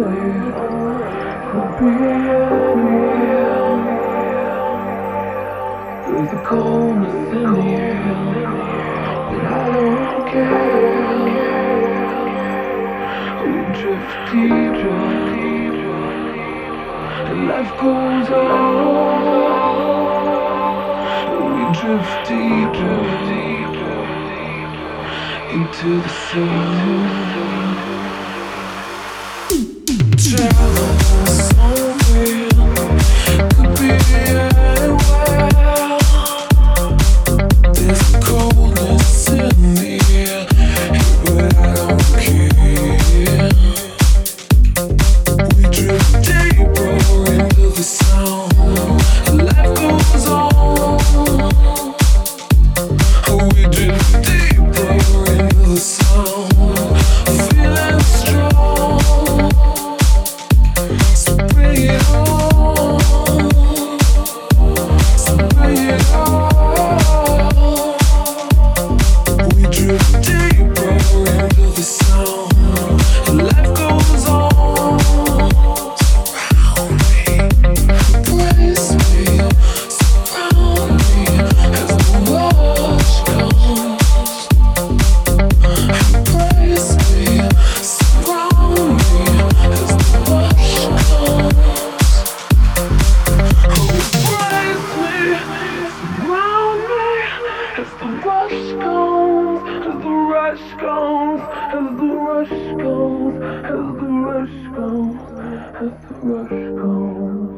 There's a coldness in the air, but I don't care. We drift deeper, and life goes on. We drift deeper into the sun. Travel somewhere, could be anywhere. There's a coldness in the air, but I don't care. We drift deeper into the sound. Life goes on. We drift deeper into the sound. Feeling strong. So bring it on. So bring it on. We drift deeper into the sound. Life goes on. Surround me, embrace me, surround me as the rush comes. Embrace me, surround me as the rush comes. Embrace me, surround me as the rush comes, as the rush comes, as the rush comes, as the rush comes, as the rush comes.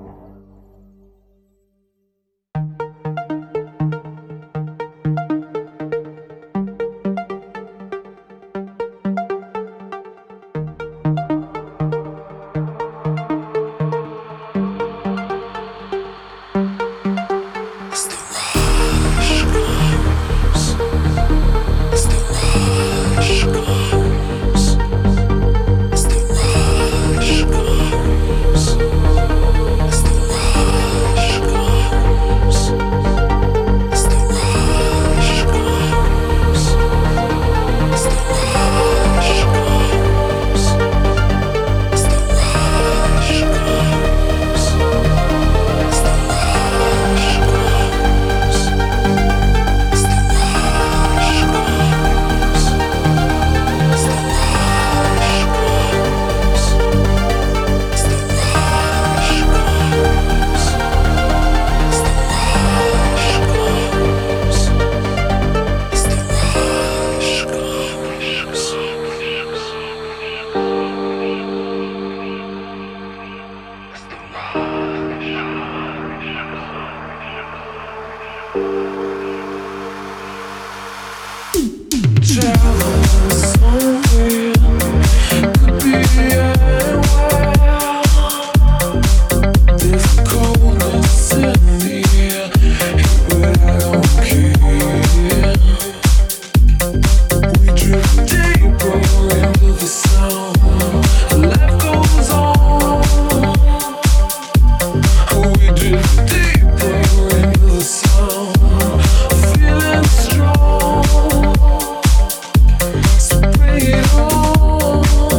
As the rush comes, as the rush comes, as the rush comes, as the rush comes, as the rush comes, as the rush comes, as the rush comes, as the rush comes, as the rush comes, as the rush comes, as the rush comes, as the rush comes, as the rush travel somewhere, could be anywhere. There's a coldness in the air, but I don't care. We drift deeper into the sound. Life goes on. We drift deeper into the sound. Feeling strong. So bring it on.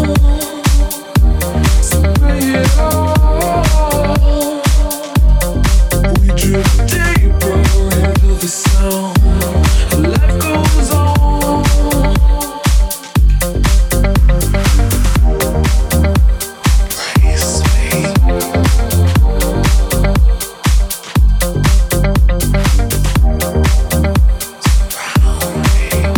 So bring it on. We drift deeper into the sound. Life goes on. Embrace me. Surround me.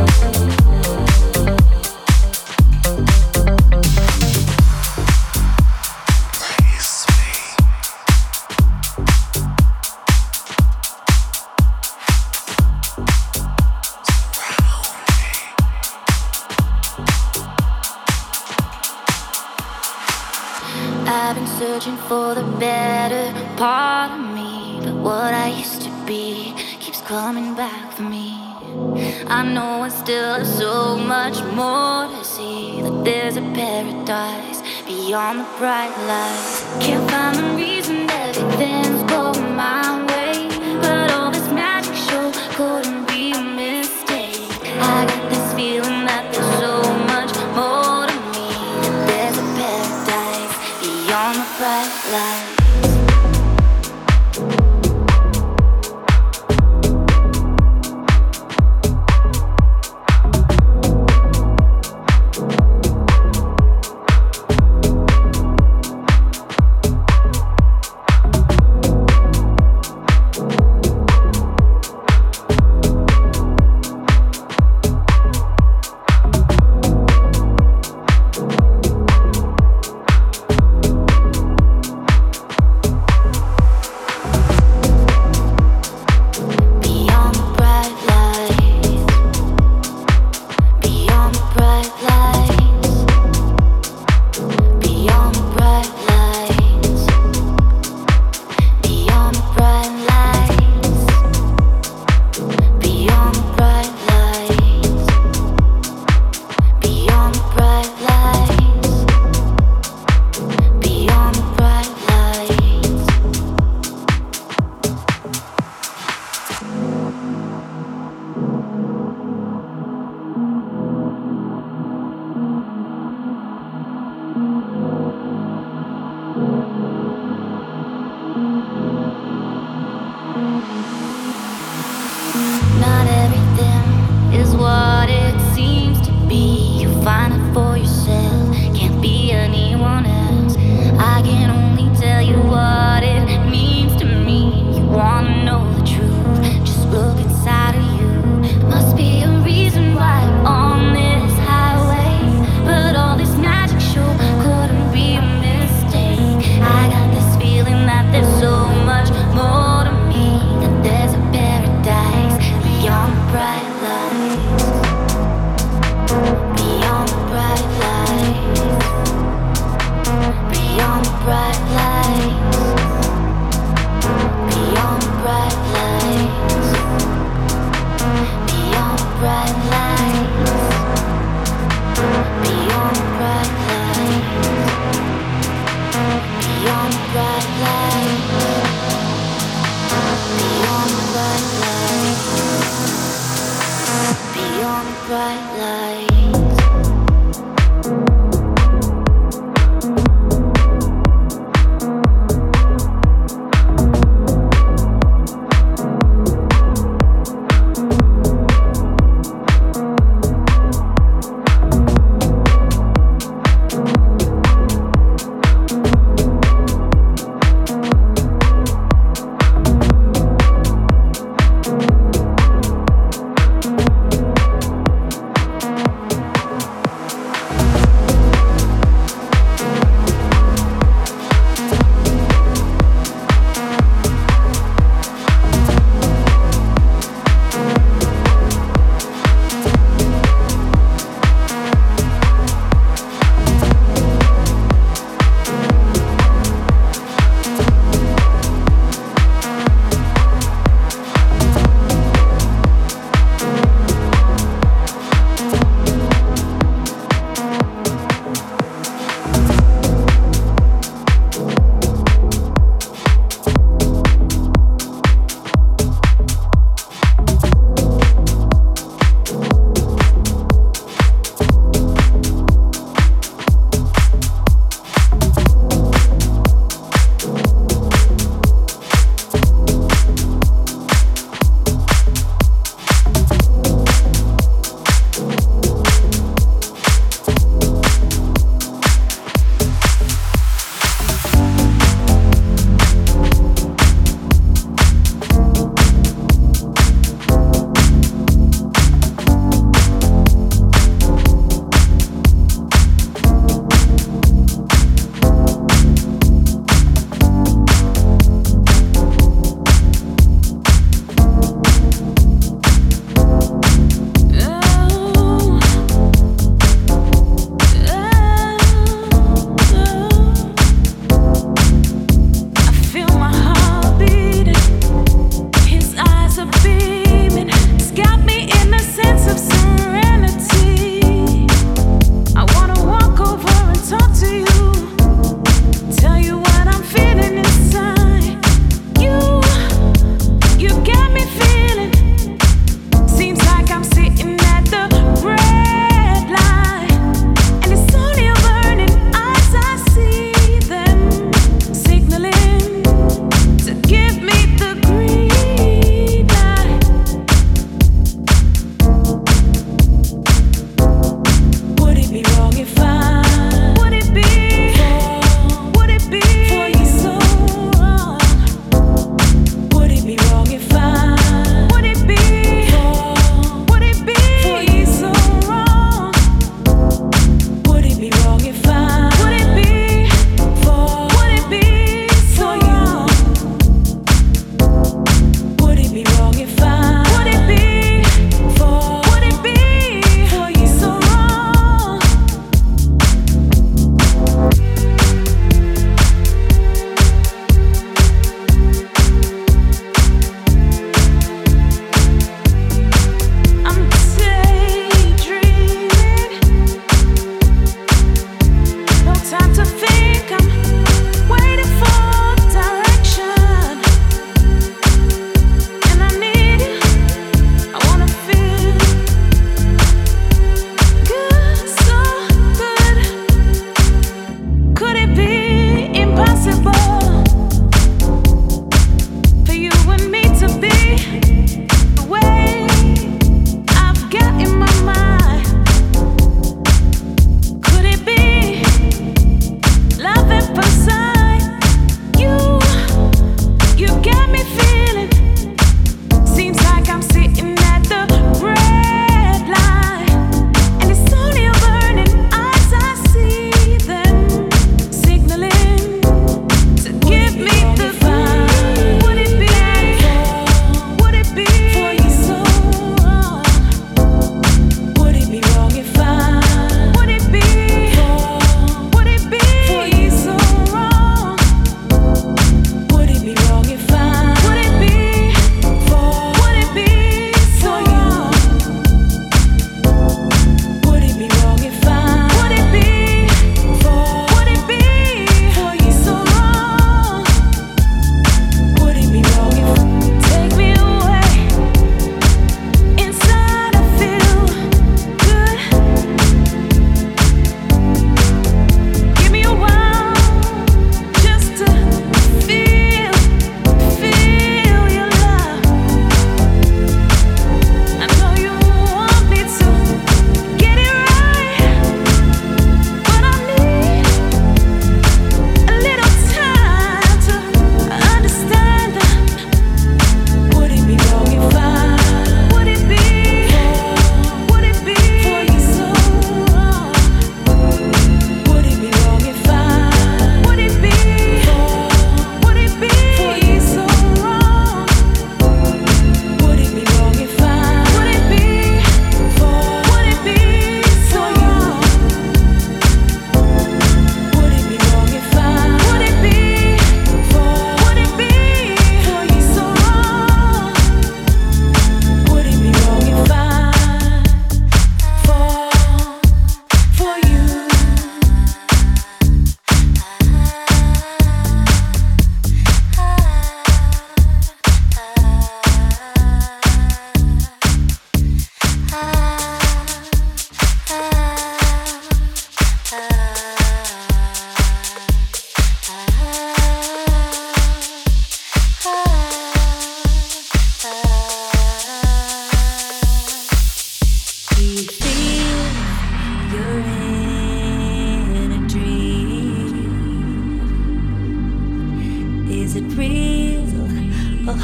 Embrace me. I've been searching for the better part of me, but what I used to be keeps coming back for me. I know I still have so much more to see, that there's a paradise beyond the bright lights. Can't find the reason everything's going my way, but all this magic show couldn't be a mistake. I got this feeling that there's so much more to me, that there's a paradise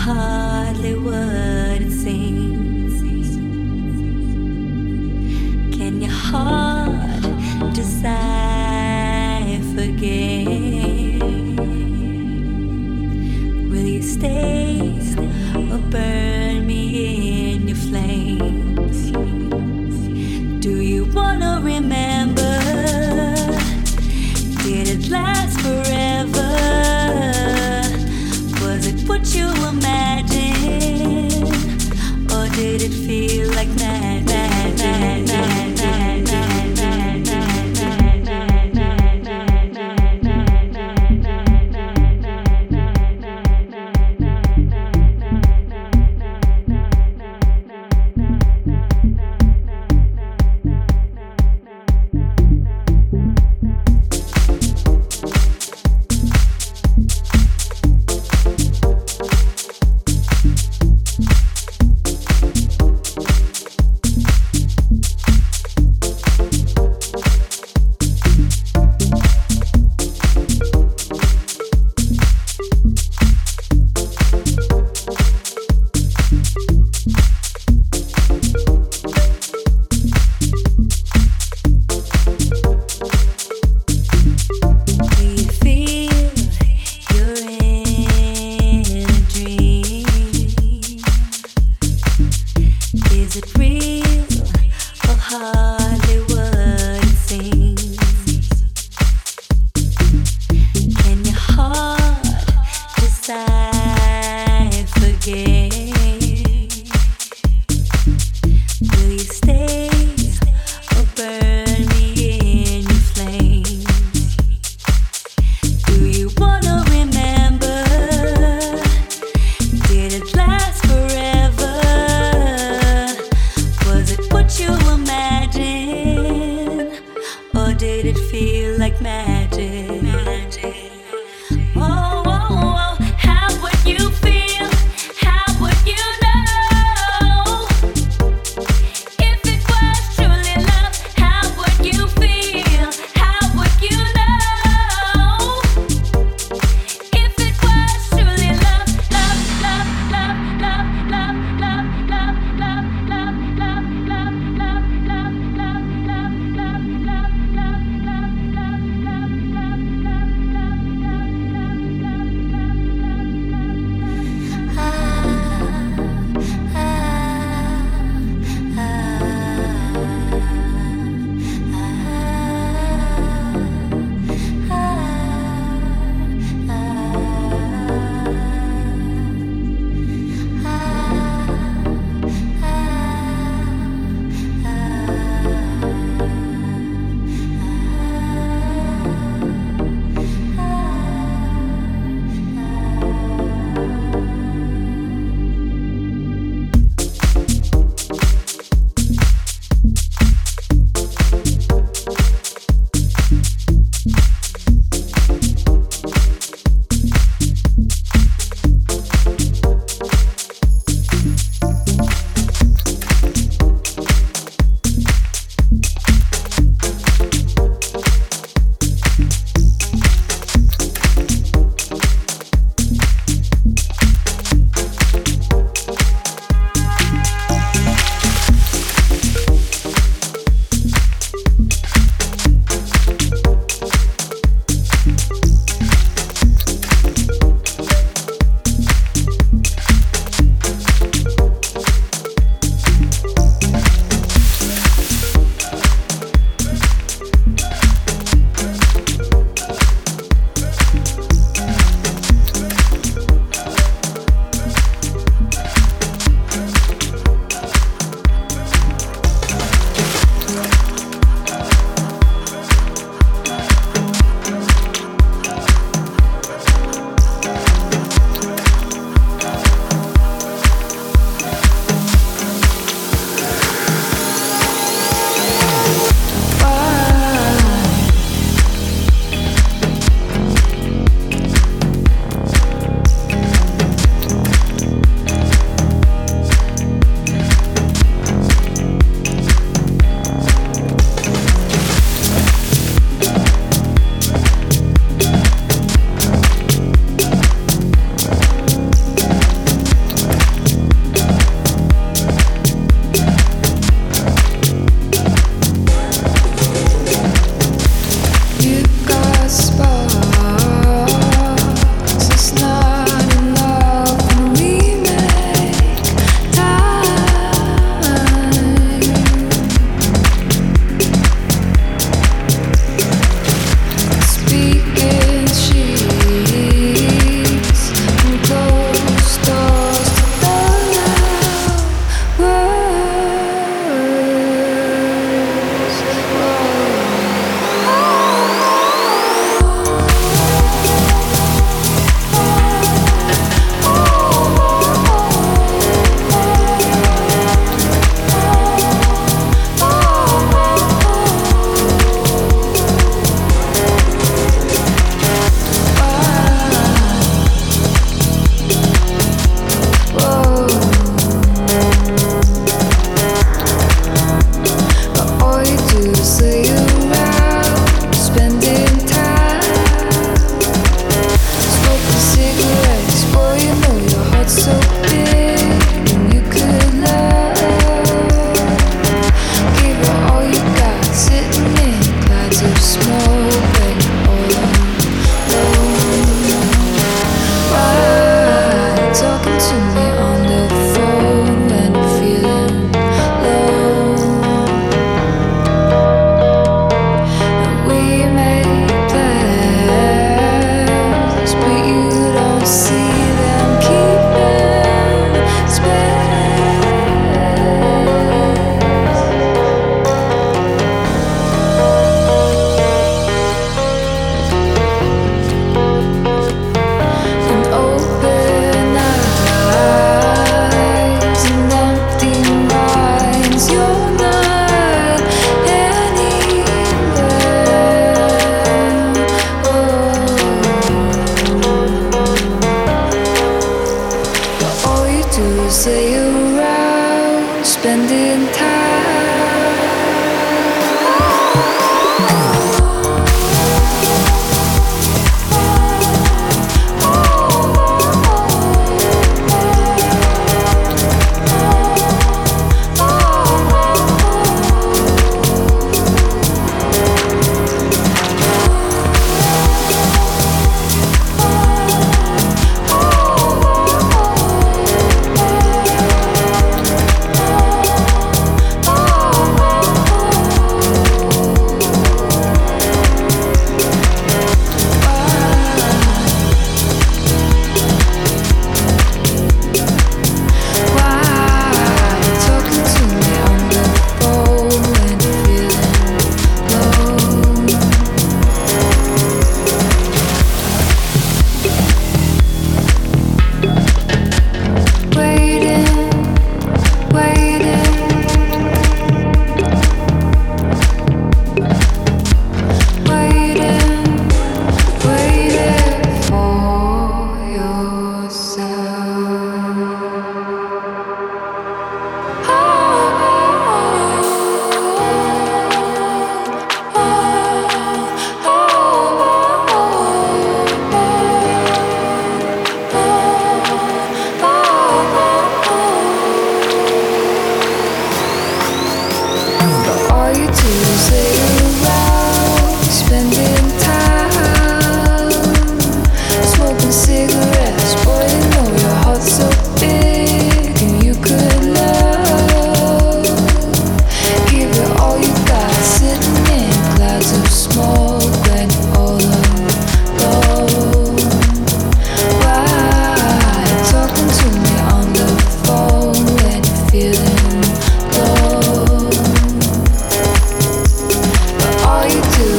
hardly what it seems. Can your heart decipher again? Will you stay or burn me in your flames? Do you wanna remember? Did it last forever? Was it what you imagined? Or did it feel like mad, mad, mad, mad, mad, mad, mad,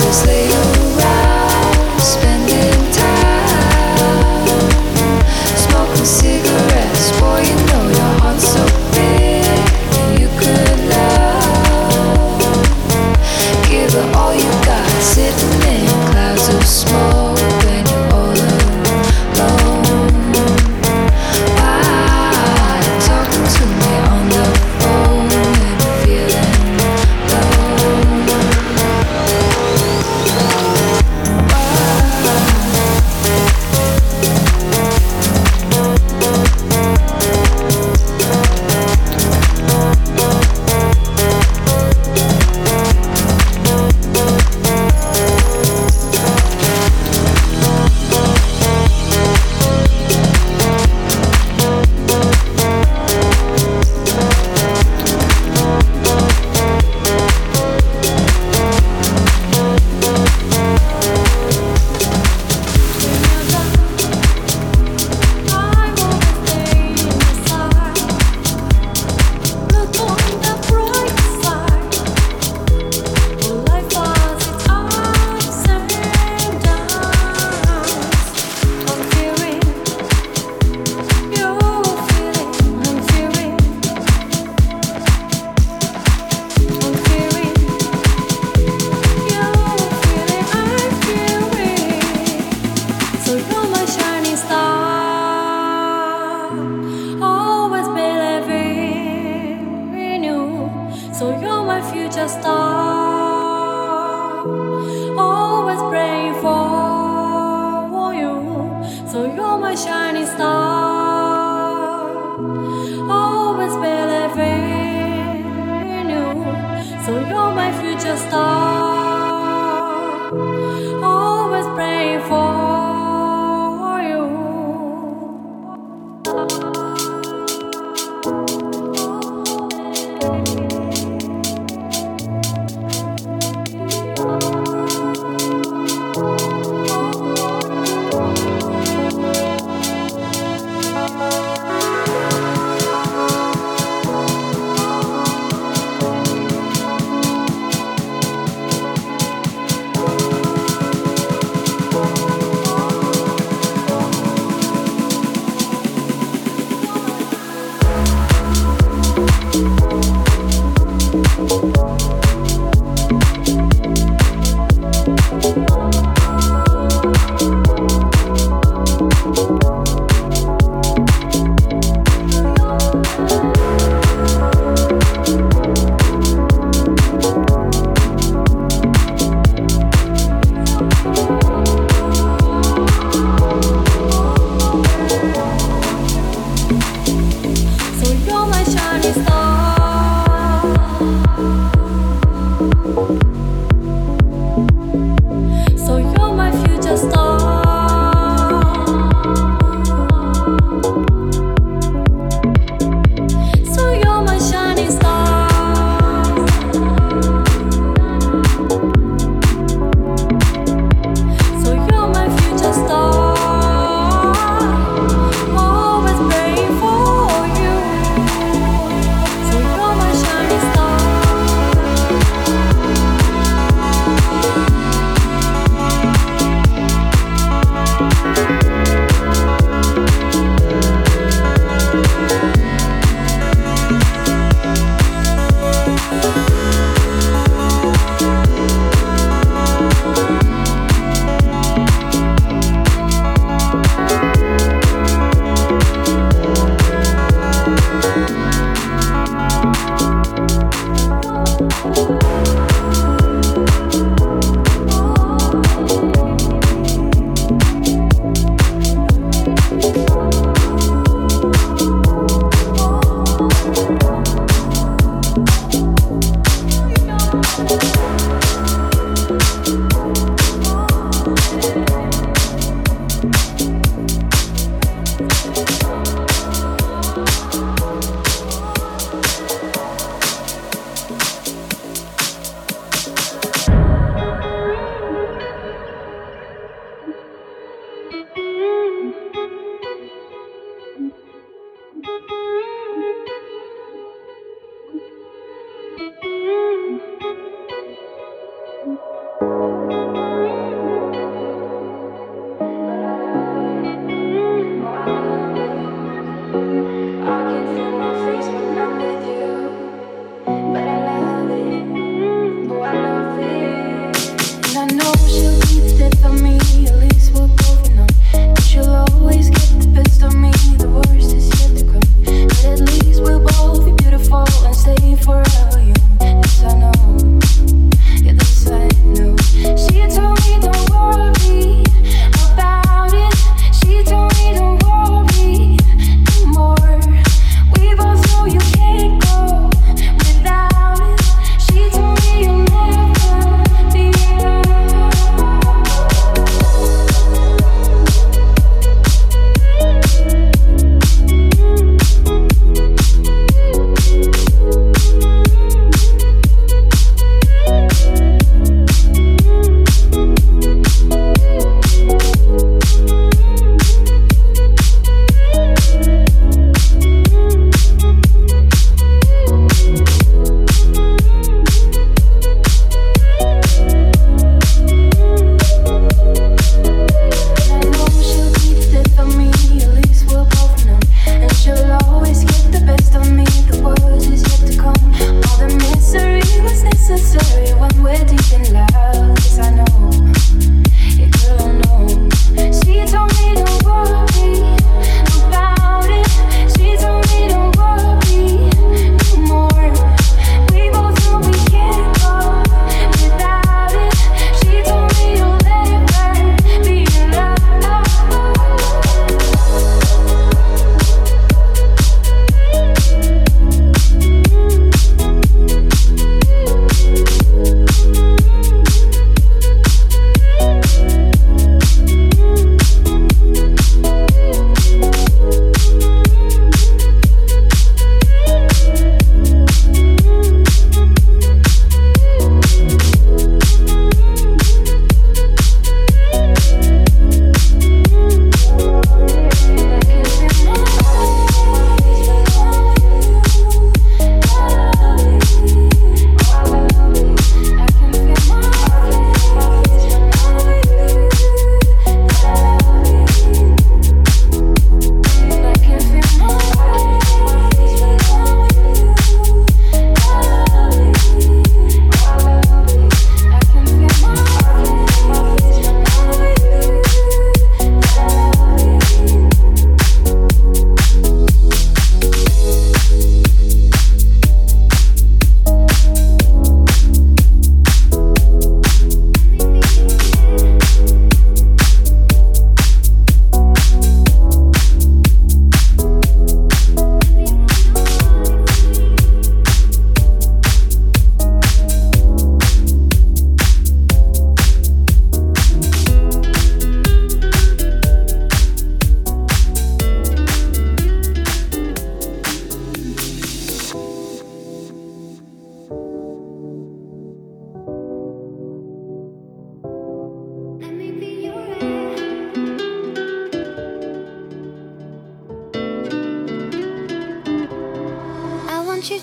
Thank you.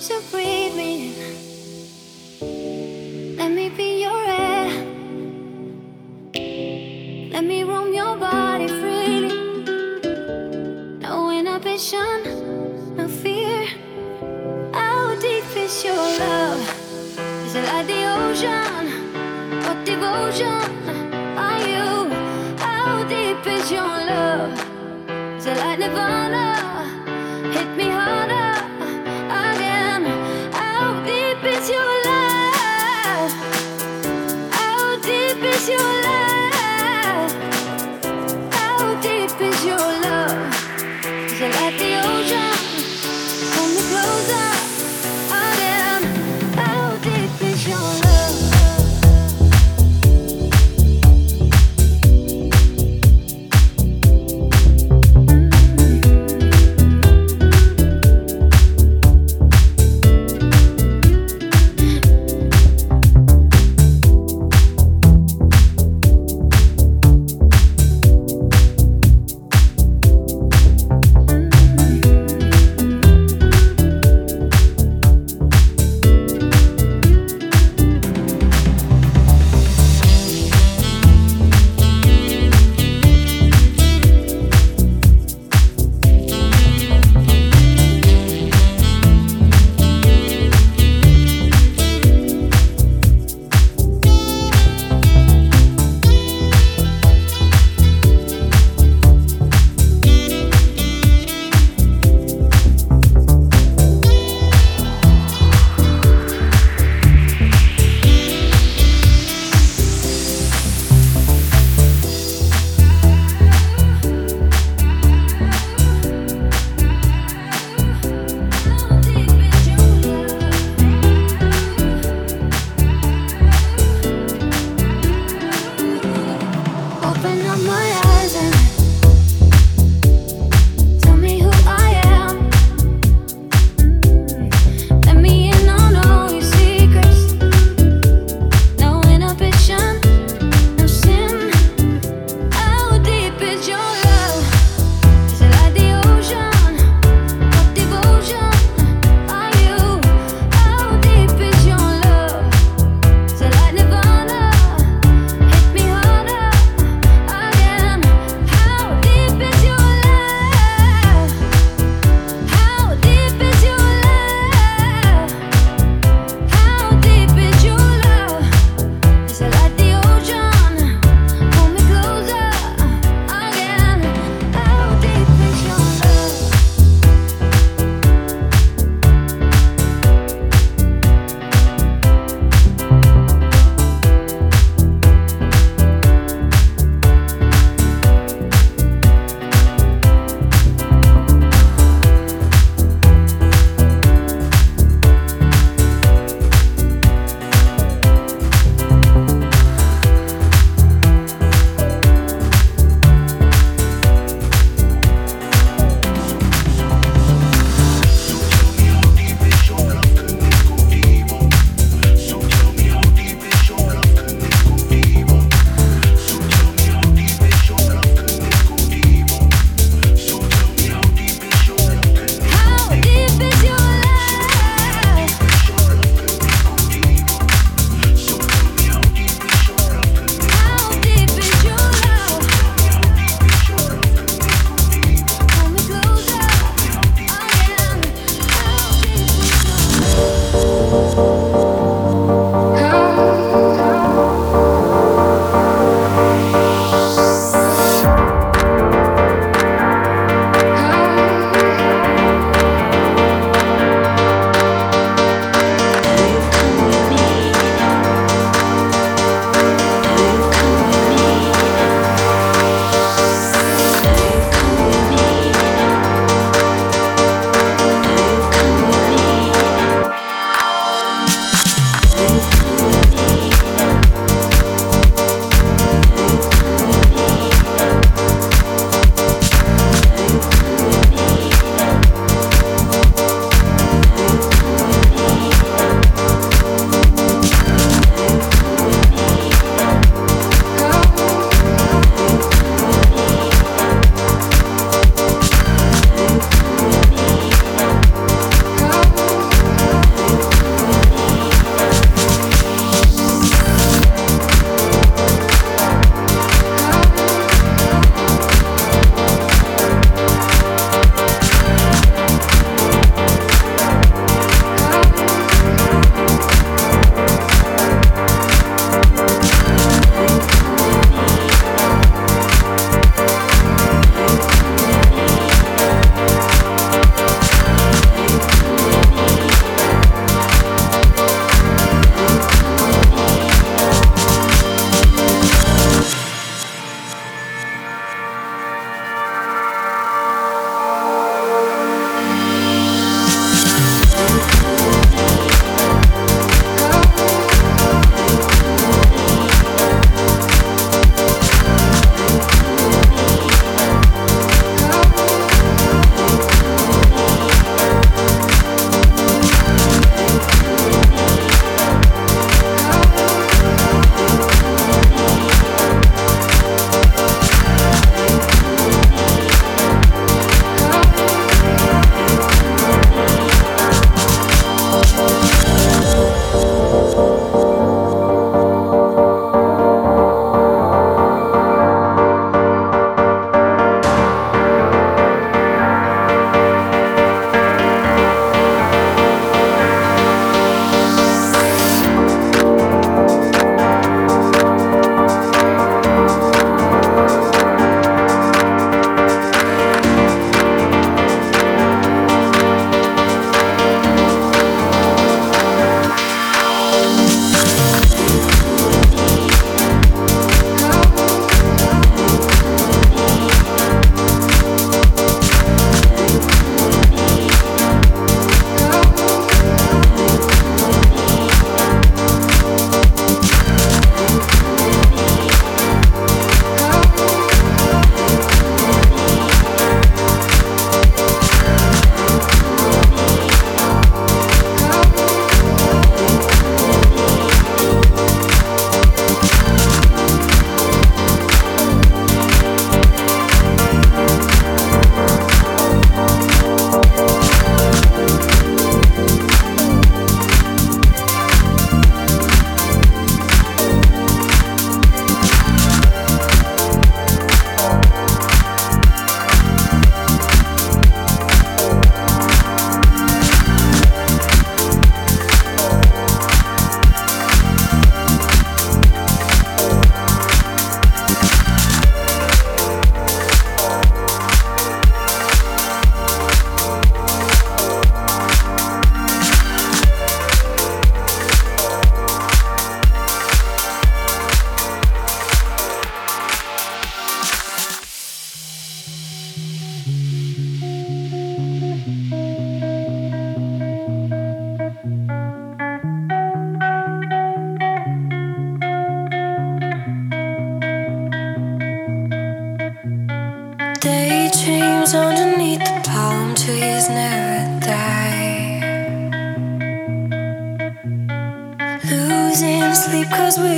So breathe me in. Let me be your air. Let me roam your body freely. No inhibition, no fear. How deep is your love? Is it like the ocean? What devotion are you? How deep is your love? Is it like Nirvana? Hit me harder again. How deep is your love? How deep is your love? How deep is your love? Is it like the ocean? Pull me closer again. How deep is your love?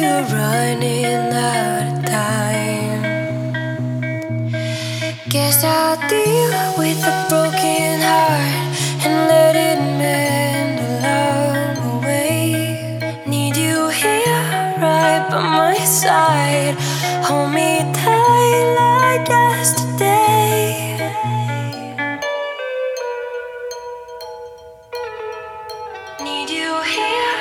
we're running out of time. Guess I'll deal with a broken heart and let it mend along the way. Need you here, right by my side. Hold me tight like yesterday. Need you here.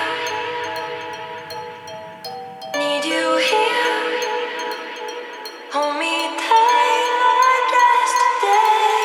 Need you here. Hold me tight like yesterday.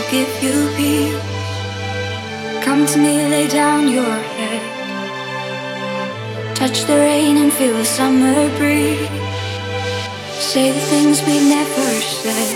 give you peace. Come to me, lay down your head. Touch the rain and feel the summer breeze. Say the things we never said.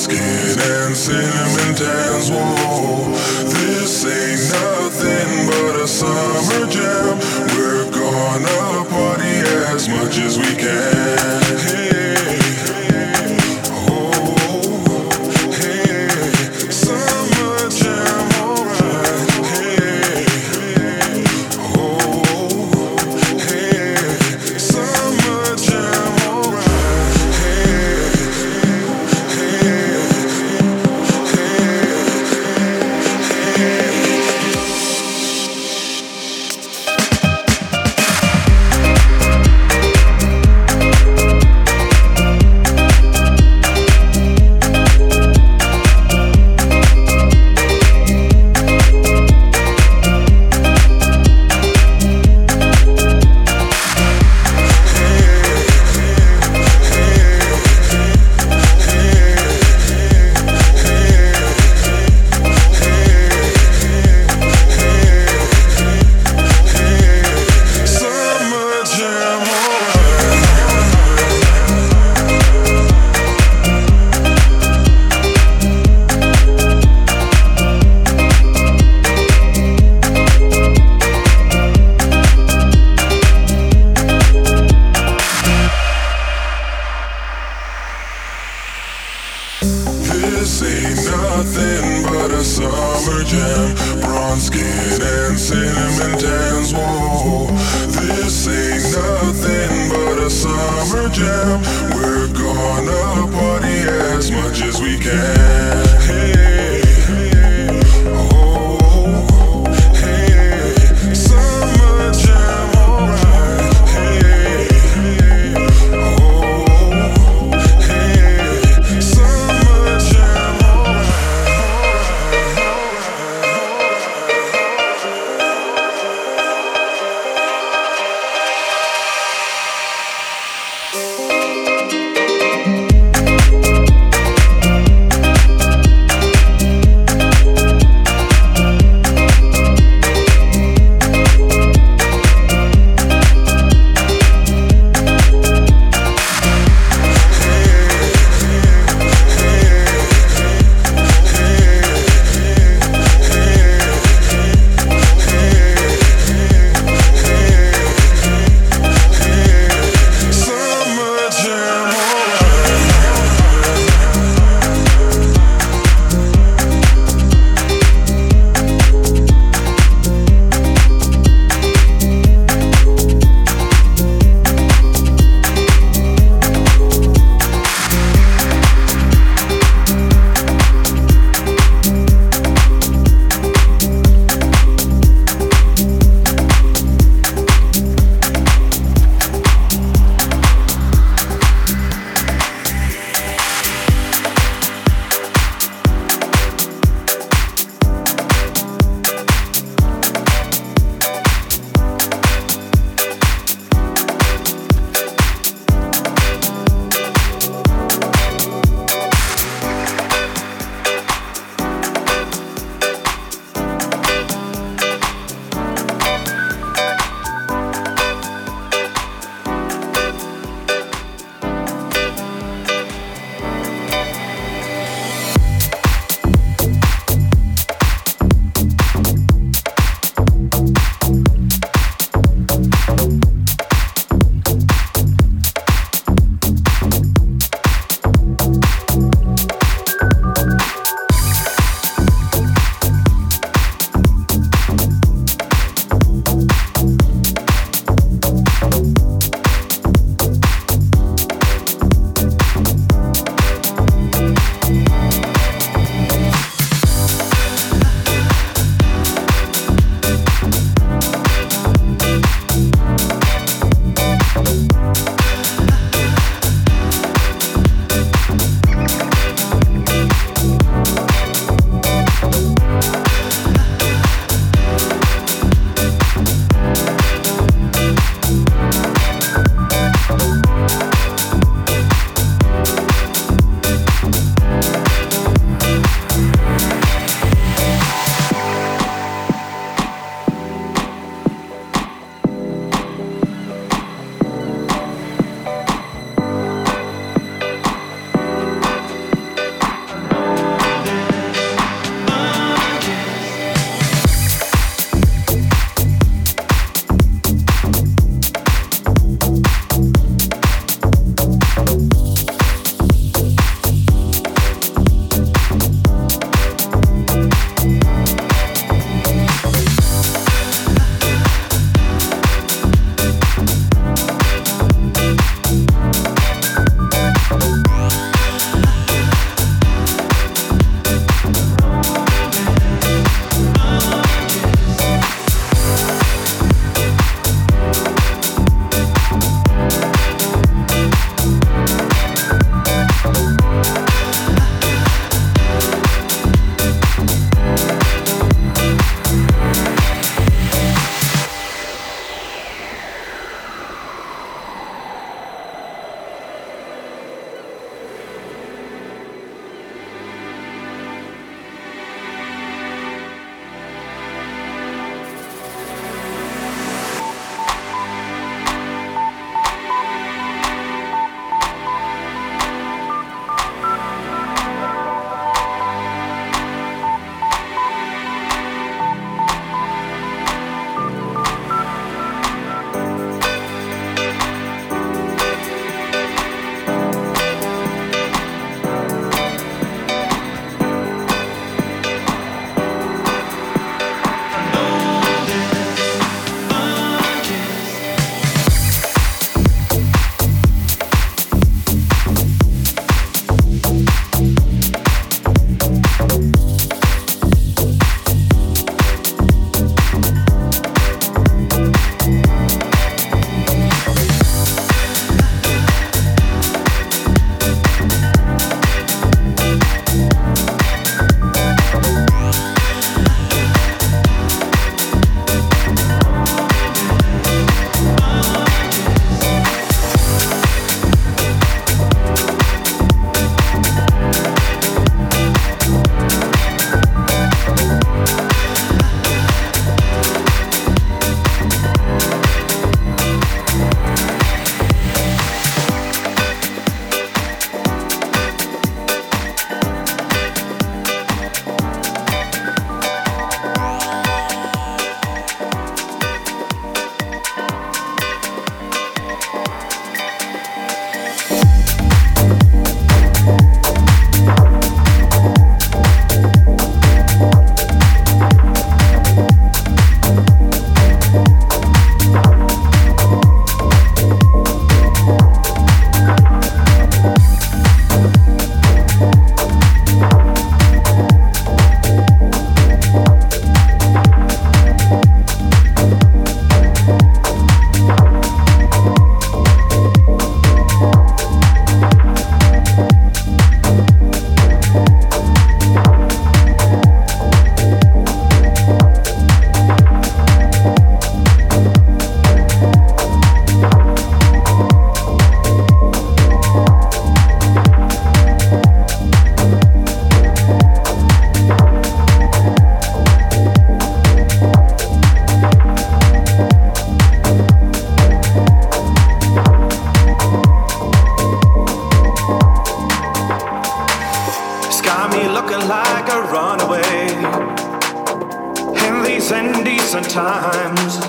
skin and cinnamon tans. Whoa, this ain't nothing but a summer jam. We're gonna party as much as we can. Hey, oh, hey, summer jam, alright. Hey, oh, hey, summer jam, alright. Hey, this ain't nothing but a summer jam. Bronze skin and cinnamon tans. Whoa, this ain't nothing but a summer jam. We're gonna party as much as we can. Hey, oh, hey, summer jam, alright. Hey, oh, hey, summer jam, alright.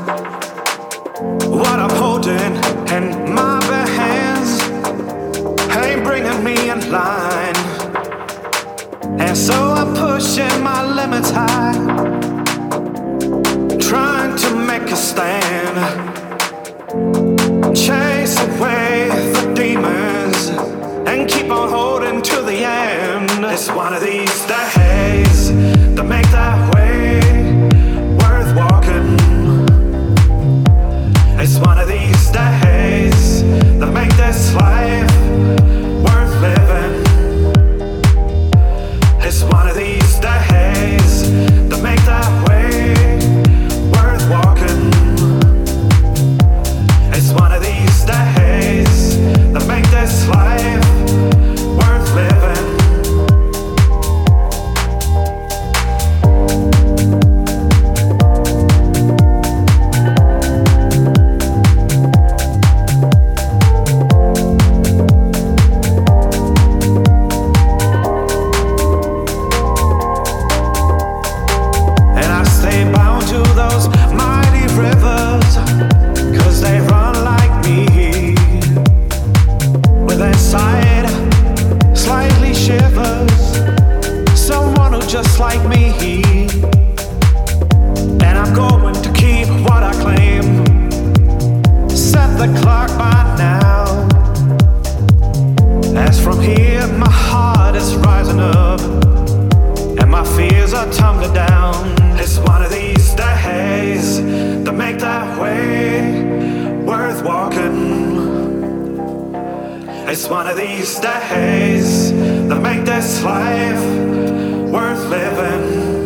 What I'm holding in my bare hands ain't bringing me in line, and so I'm pushing my limits high, trying to make a stand, chase away the demons and keep on holding to the end. It's one of these days that make that way worth walking. It's one of these days that make this life worth living. It's one of these days that make that way worth walking. It's one of these days that make this life worth living. Just like me, and I'm going to keep what I claim. Set the clock by now. As from here, my heart is rising up, and my fears are tumbling down. It's one of these days that make that way worth walking. It's one of these days that make this life worth living.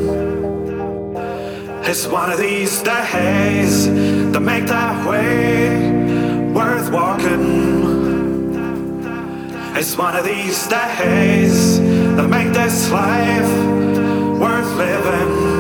It's one of these days that make that way worth walking. It's one of these days that make this life worth living.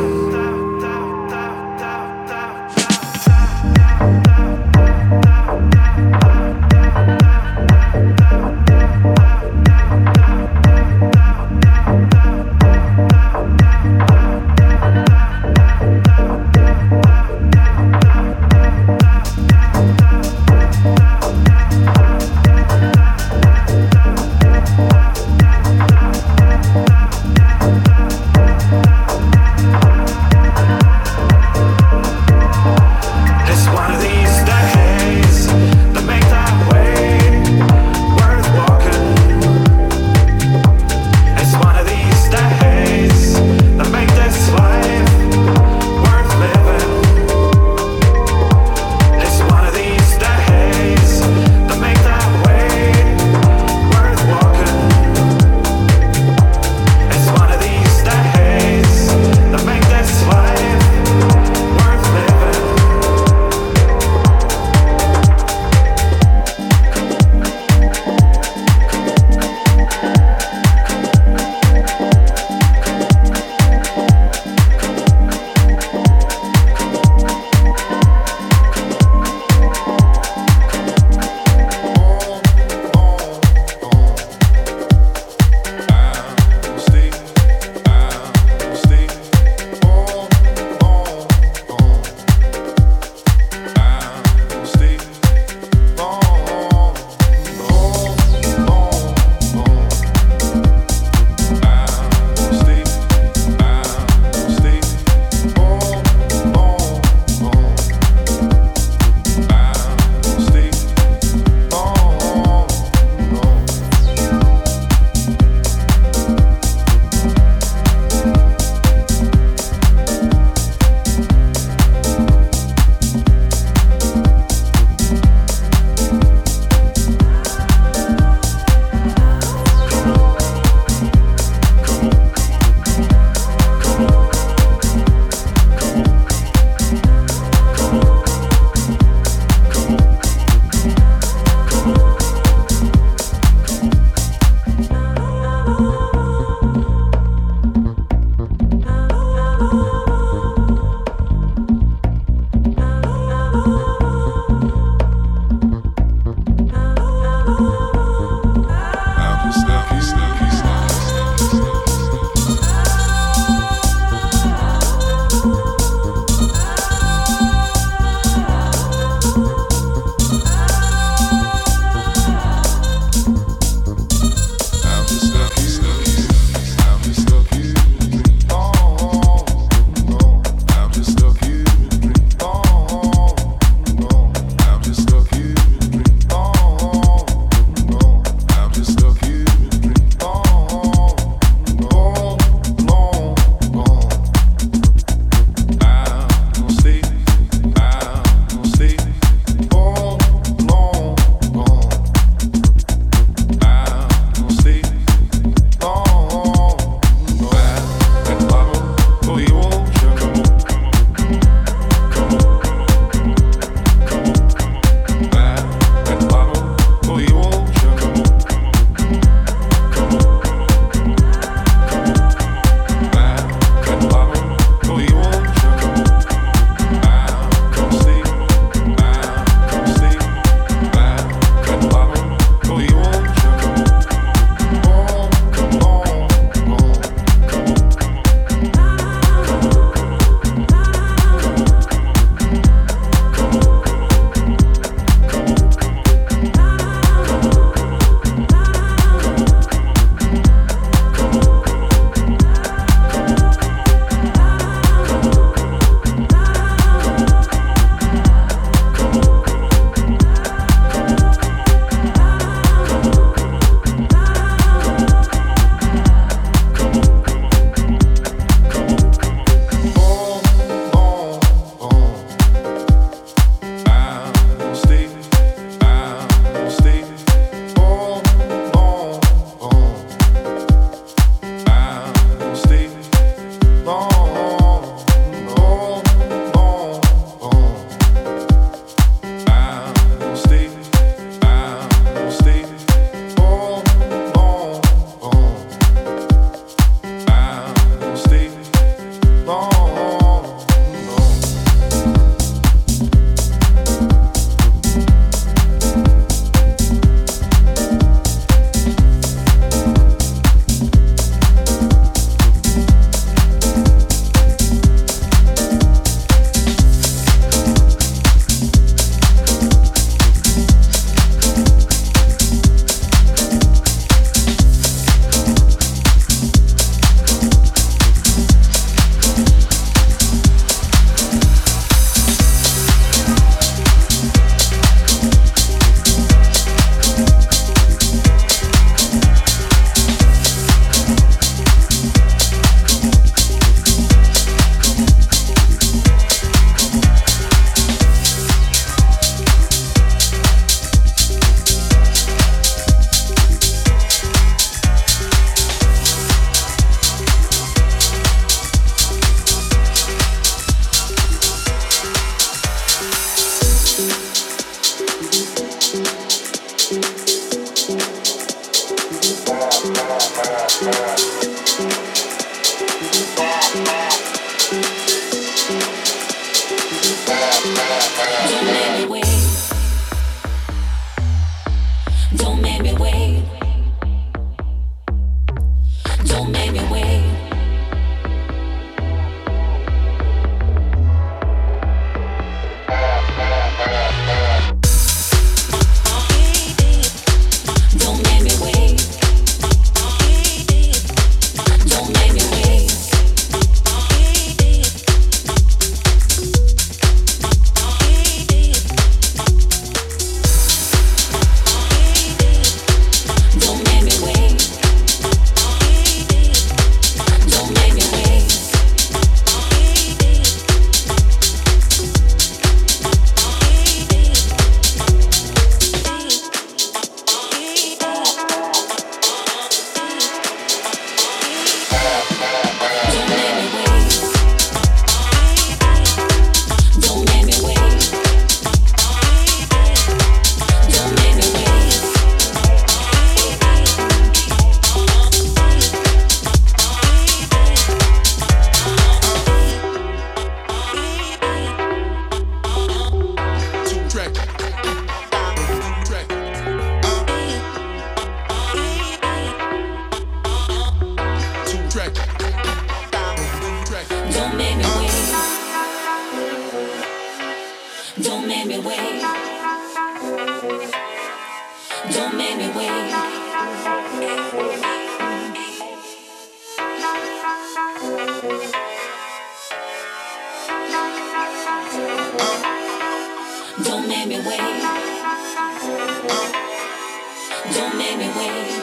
Don't make me wait. Don't make me wait. Don't make me wait. Don't make me wait.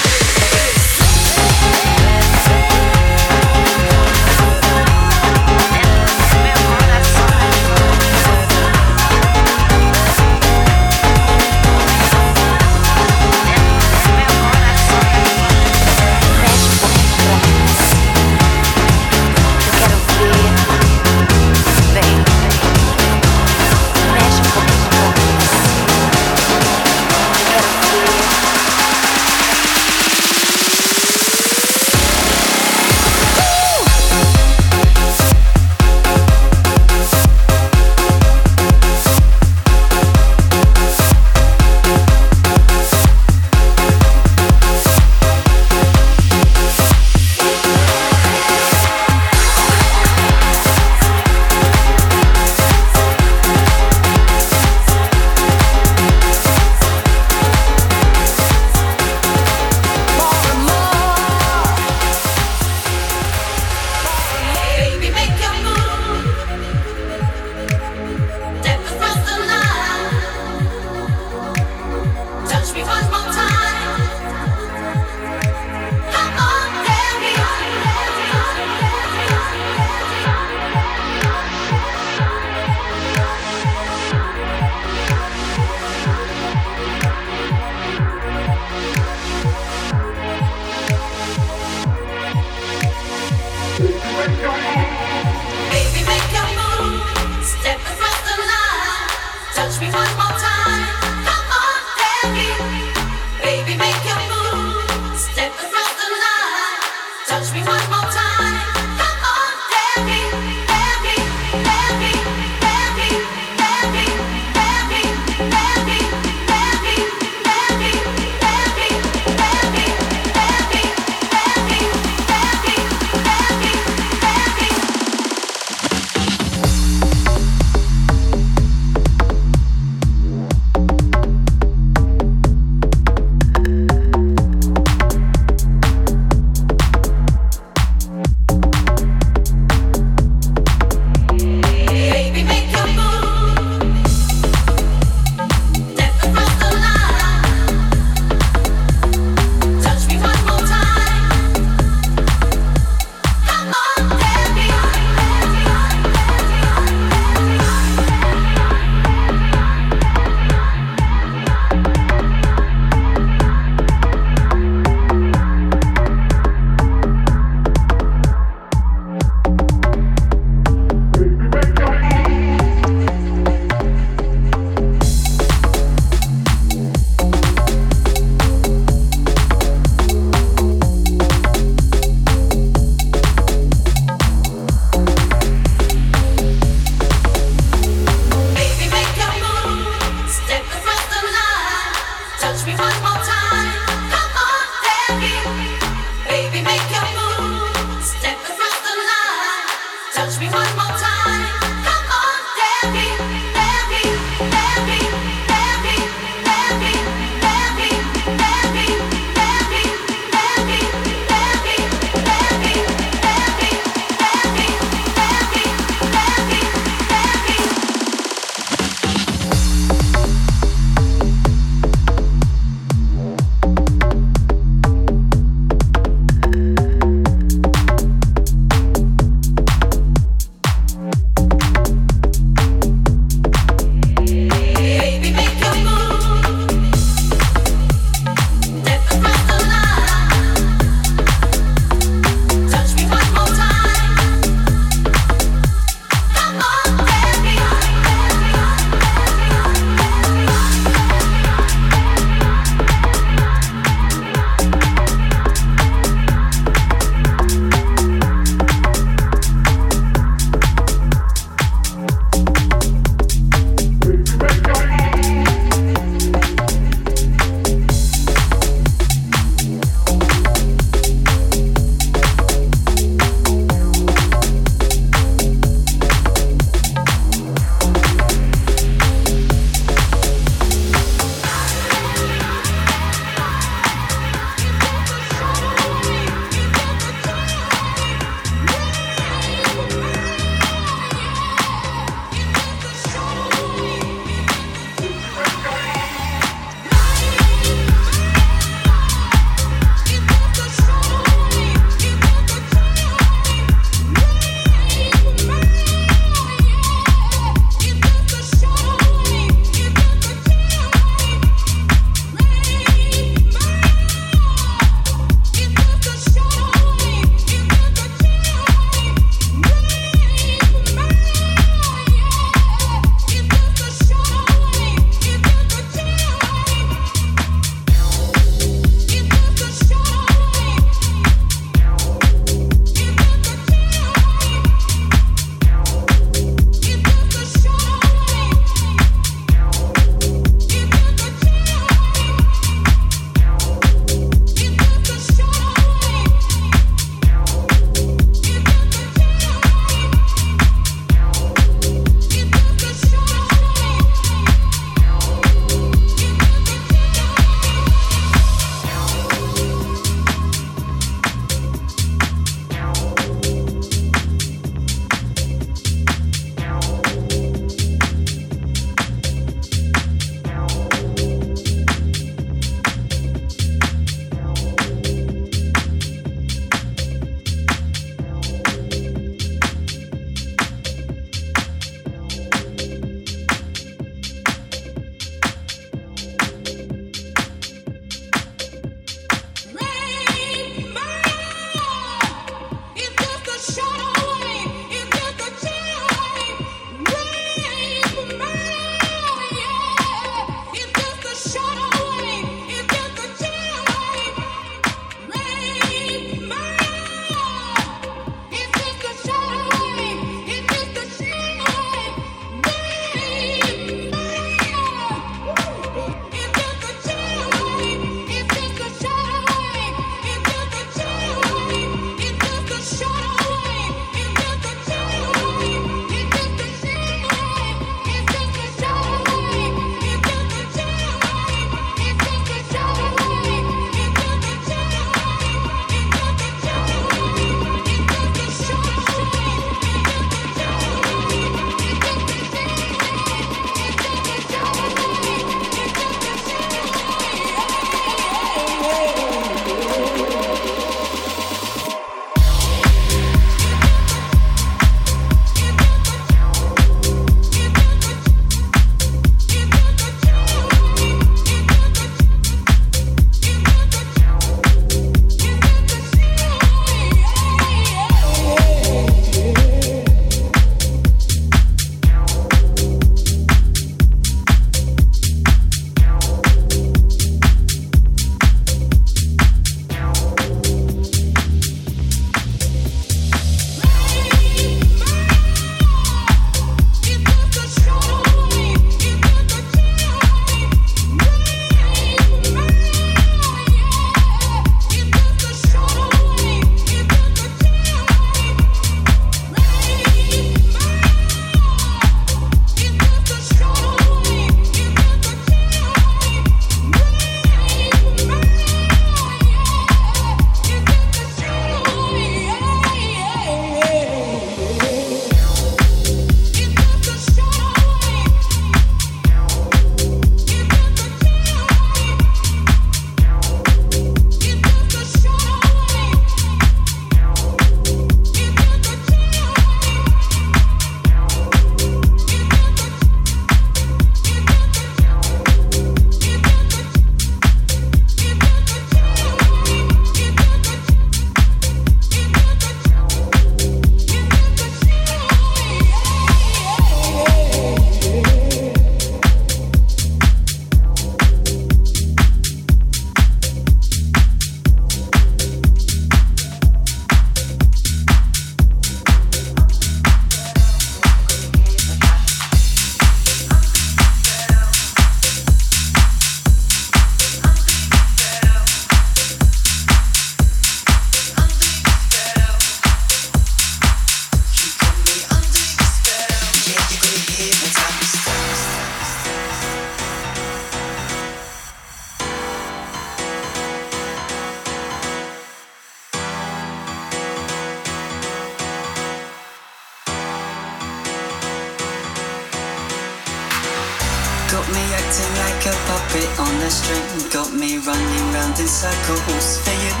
like a puppet on a string. Got me running round in circles for you.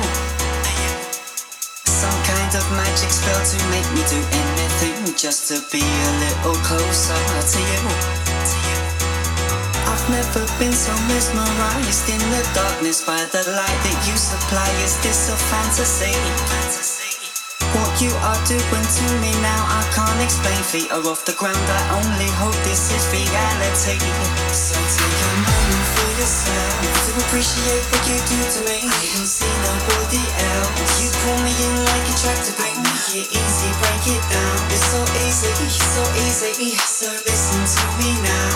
Some kind of magic spell to make me do anything just to be a little closer to you. I've never been so mesmerized in the darkness by the light that you supply. Is this a fantasy? What you are doing to me now I can't explain. Feet are off the ground, I only hope this is reality. So take a moment for yourself to appreciate what you do to me. I don't see nobody else. You pull me in like a tractor beam. Yeah, easy, break it down. It's so easy, so easy. So listen to me now.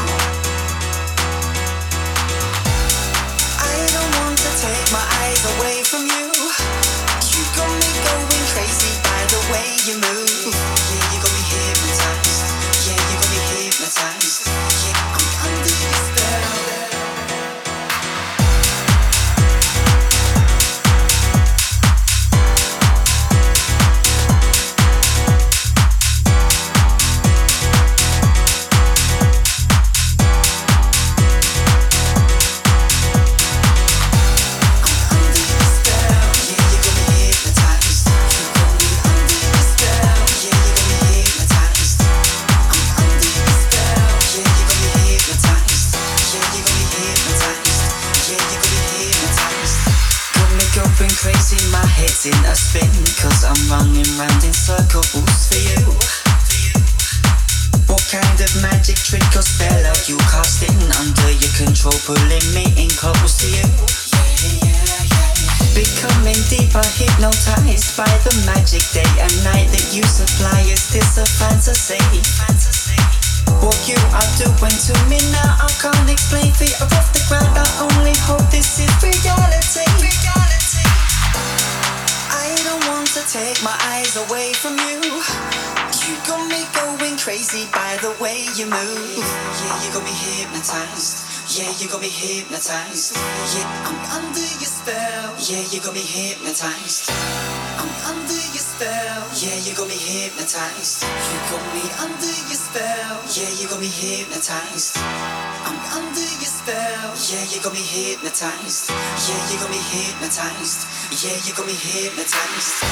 I don't want to take my eyes away from you. You got me going crazy by the way you move. Yeah, you got me hypnotized. Yeah, you got me hypnotized. Yeah, I'm under your spell. Crazy, my head's in a spin, cause I'm running round in circles for you. What kind of magic trick or spell are you casting? Under your control, pulling me in close to you. Becoming deeper, hypnotized by the magic day and night that you supply. Is this a fantasy? What you are doing to me now I can't explain. Feet are off the ground, I only hope this is reality. I don't want to take my eyes away from you. You got me going crazy by the way you move. Yeah, you got me hypnotized. Yeah, you got me hypnotized. Yeah, I'm under your spell. Yeah, you got me hypnotized. I'm under your spell. Yeah, you got me hypnotized. You got me under your spell. Yeah, you got me hypnotized. I'm under your spell. Yeah, you got me hypnotized. Yeah, you got me hypnotized. Yeah, you got me hypnotized.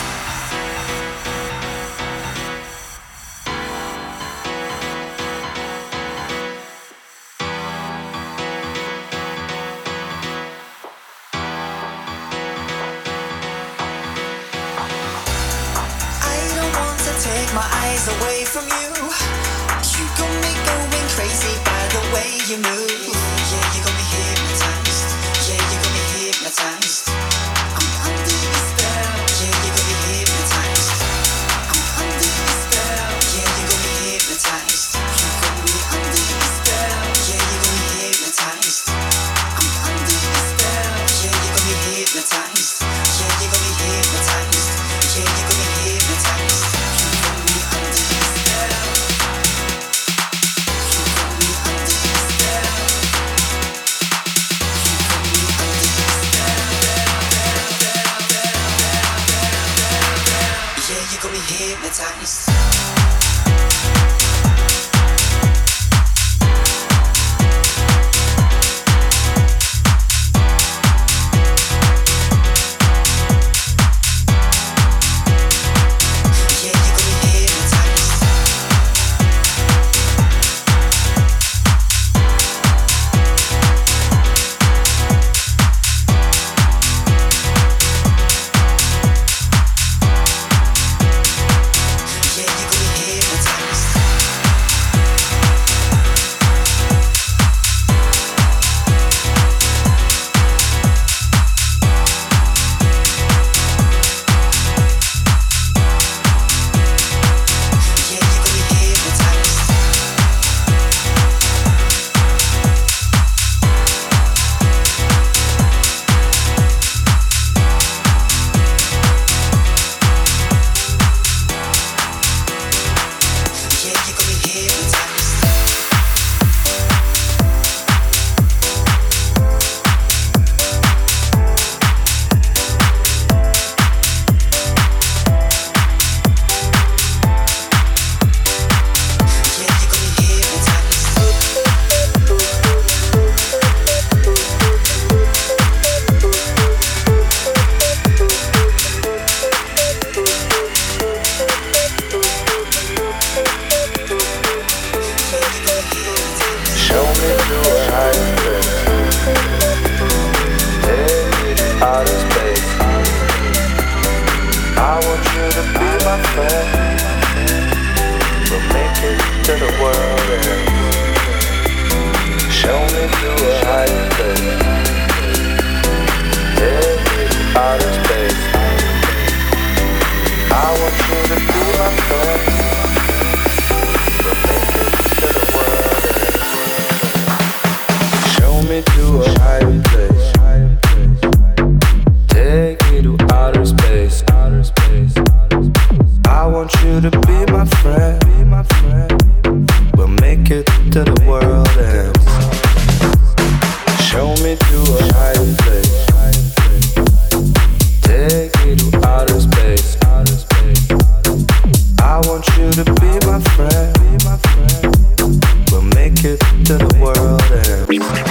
Take my eyes away from you. You got me going crazy by the way you move. Yeah, you got me hypnotized. Yeah, you got me hypnotized. I'm under your spell. Yeah, you got me hypnotized. I'm under your spell. Yeah, you got me hypnotized. You got me under your spell. Yeah, you got me hypnotized. I'm under your spell. Yeah, you got me hypnotized. Yeah, you got me hypnotized. Yeah, you got me hypnotized. Hypnotized. Yeah, outer space. I want you to be my friend. We'll make it to the world and show me to a higher place. Take me to outer space. I want you to be my friend. We'll make it to the world and show me to a higher place. Take me to outer space. I want you to be my friend. We'll make it to the world and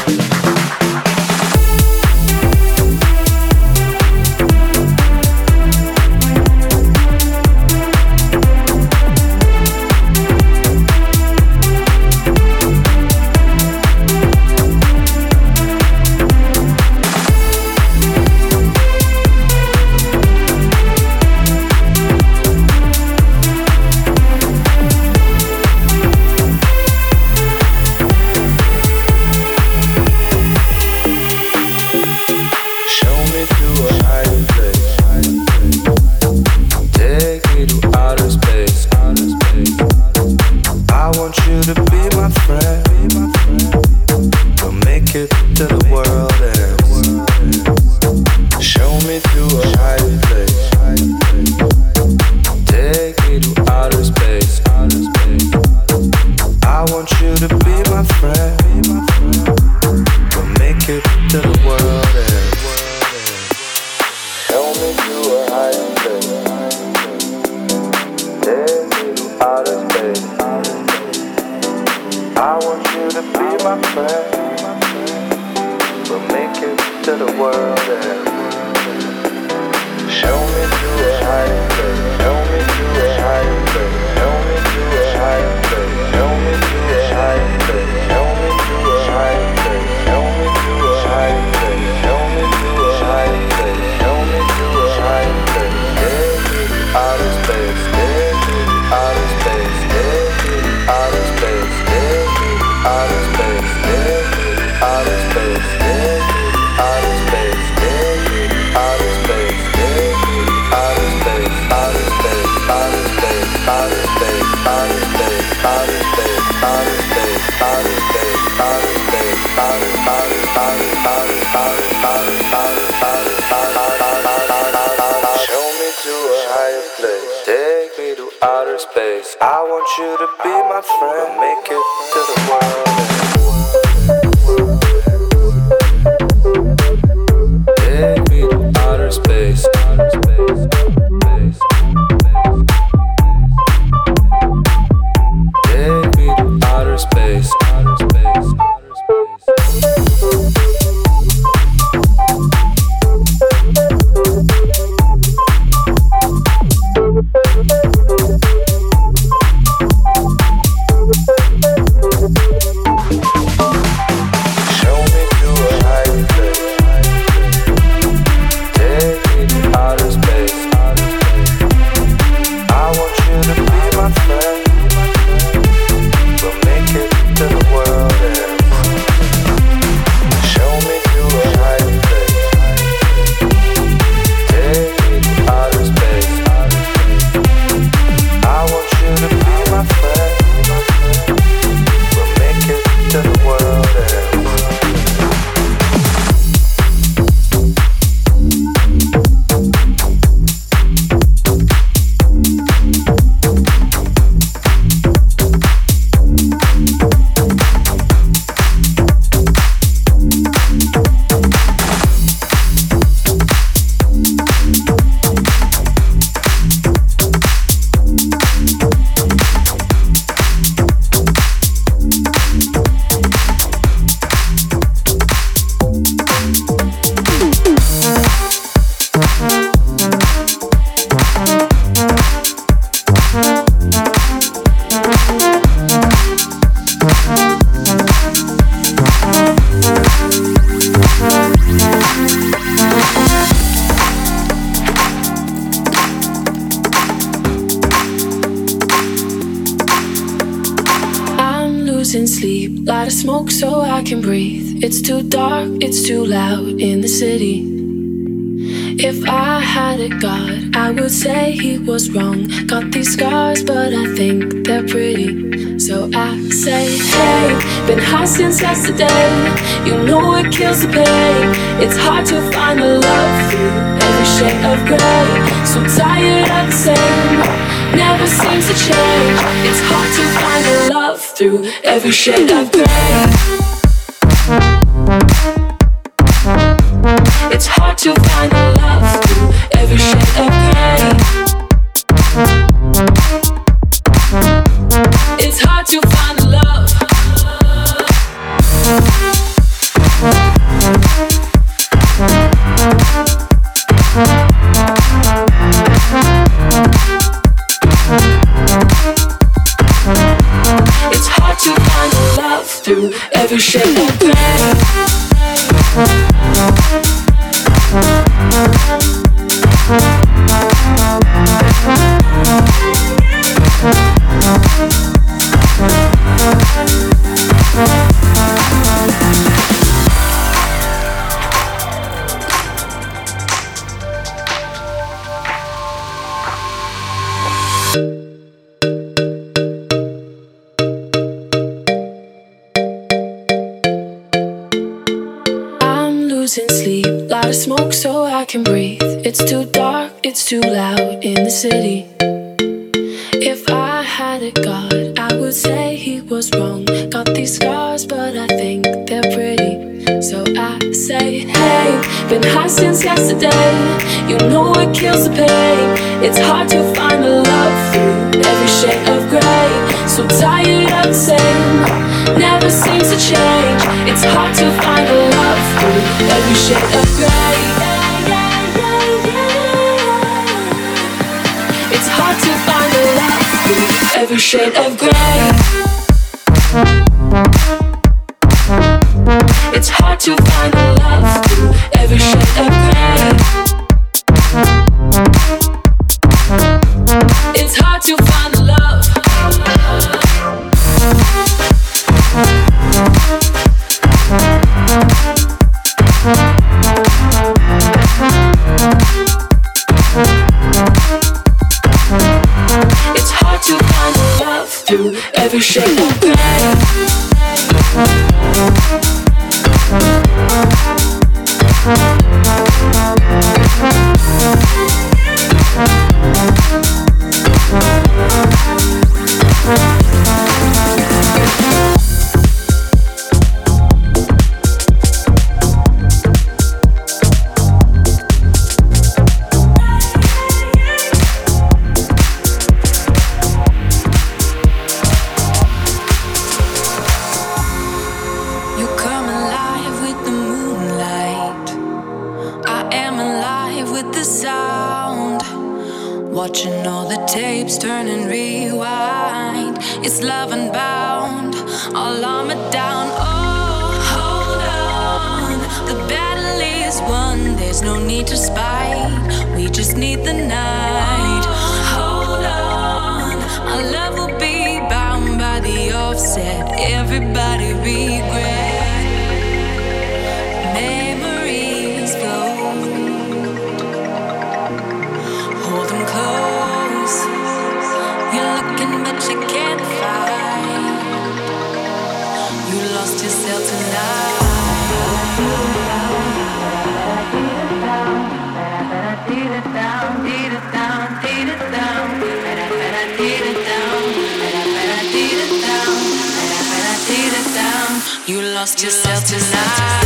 losing sleep, light a smoke so I can breathe. It's too dark, it's too loud in the city. If I had a god, I would say he was wrong. Got these scars, but I think they're pretty. So I say, hey, been high since yesterday. You know it kills the pain. It's hard to find a love through every shade of gray. So tired of the same, never seems to change. It's hard to find a love through every shade of gray. It's hard to find a love through every shade of gray. It's hard to find a love. It's hard to find a love through every shade of gray. Losing sleep, light a smoke so I can breathe. It's too dark, it's too loud in the city. If I had a god, I would say he was wrong. Got these scars, but I think they're pretty. So I say, hey, been high since yesterday. You know it kills the pain. It's hard to find a love through every shade of gray. So tired of the same, never seems to change. It's hard to find a love through every shade of gray. It's hard to find a love through every shade of gray. It's hard to find a love through every shade of gray. It's hard to find a love. It's hard to find a love through every shade of gray. Watching all the tapes turn and rewind. It's love unbound, all armored down. Oh, hold on, the battle is won. There's no need to spite, we just need the night. Hold on, our love will be bound by the offset. Everybody regret. Memories float. Hold them close. You're looking but you can't find. You lost yourself tonight. You lost yourself tonight.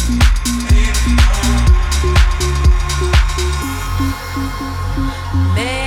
Man.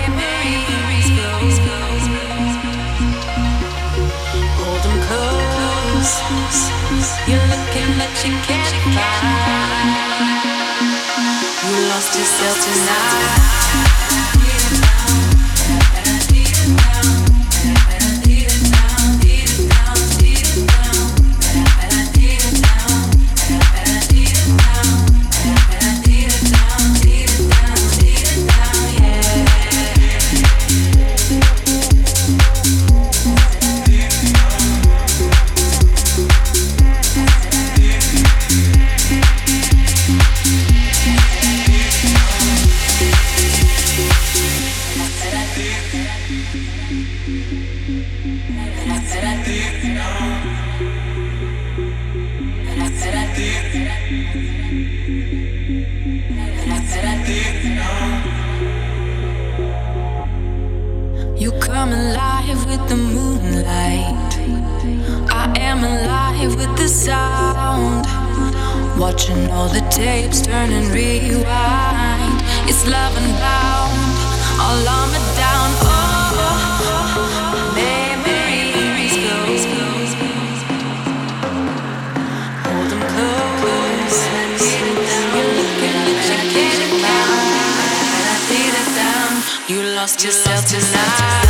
You come alive with the moonlight. I am alive with the sound. Watching all the tapes turn and rewind. It's love and bound. All armor down. Oh, memories go. Hold them close. You're looking at your getting down. You lost yourself tonight.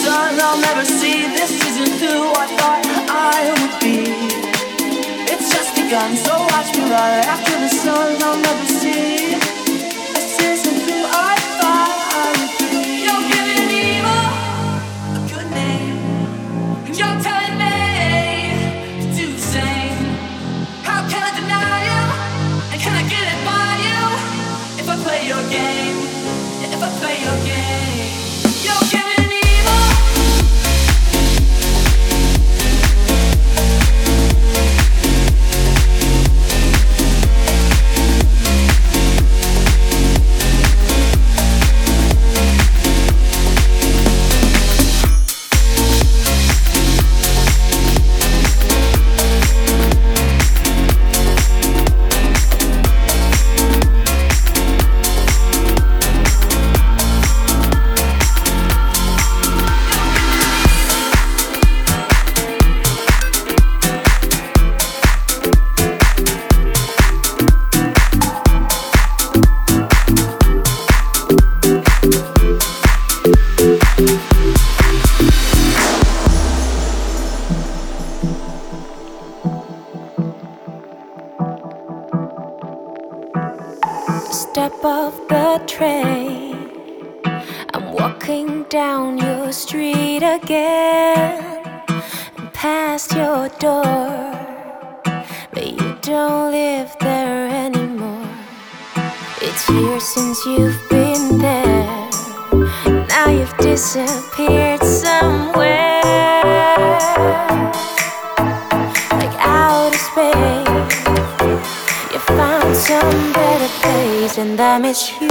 sun I'll never see. This isn't who I thought I would be. It's just begun, so watch me run after the sun I'll never see. This isn't who I thought I would be. You're giving evil a good name, and you're telling me to do the same. How can I deny you? And can I get it by you? If I play your game, if I play your game. You're giving evil step off the train. I'm walking down your street again, and past your door, but you don't live there anymore. It's years since you've been there. Now you've disappeared somewhere, like outer space. You found some better place, and I miss you.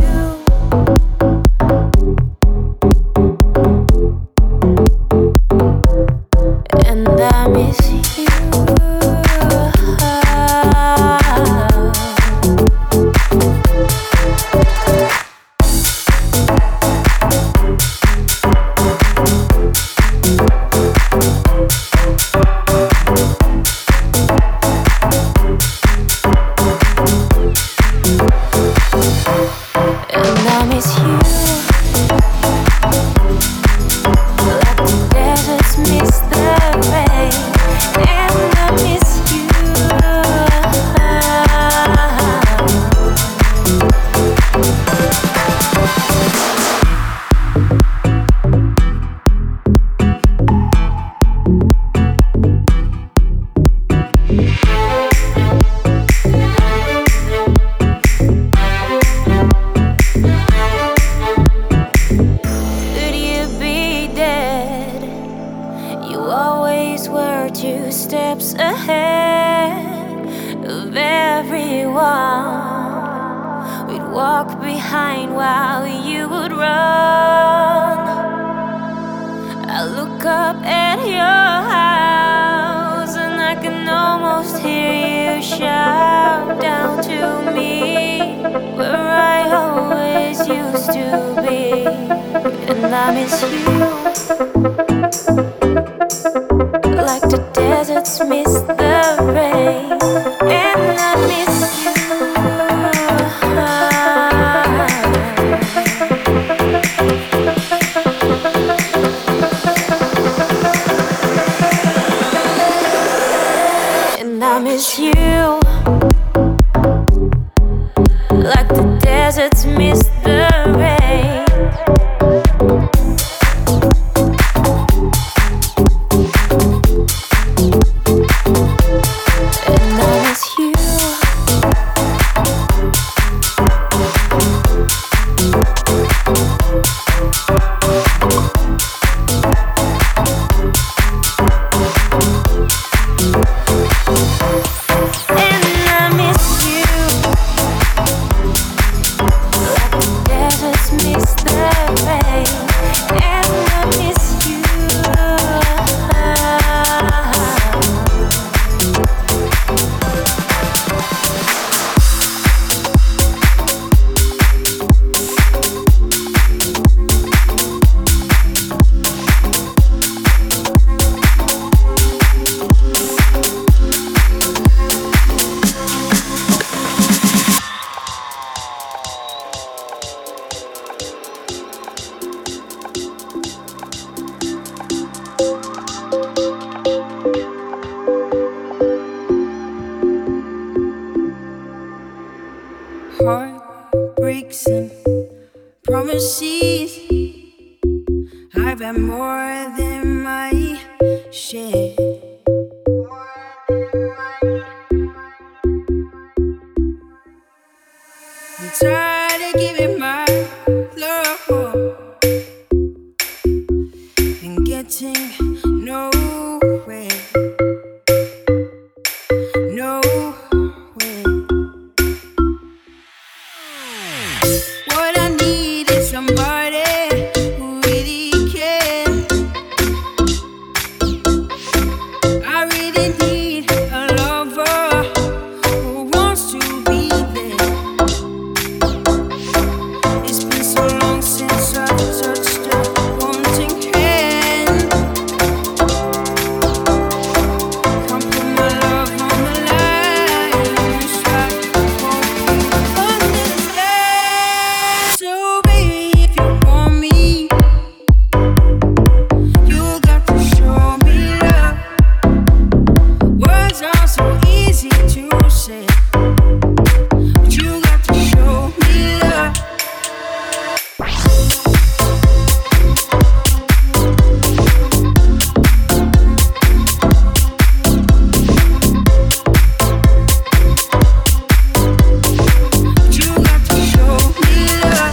And I miss you. got more than my share. I'm tired of giving my love and getting nowhere. What I need is somebody who really cares. I really need a lover who wants to be there. It's been so long since I've touched a wanting hand. Come put my love on the line. Try to understand. So baby, if you want me, you got to show me love. Words are so easy to say, but you got to show me love. But you got to show me love.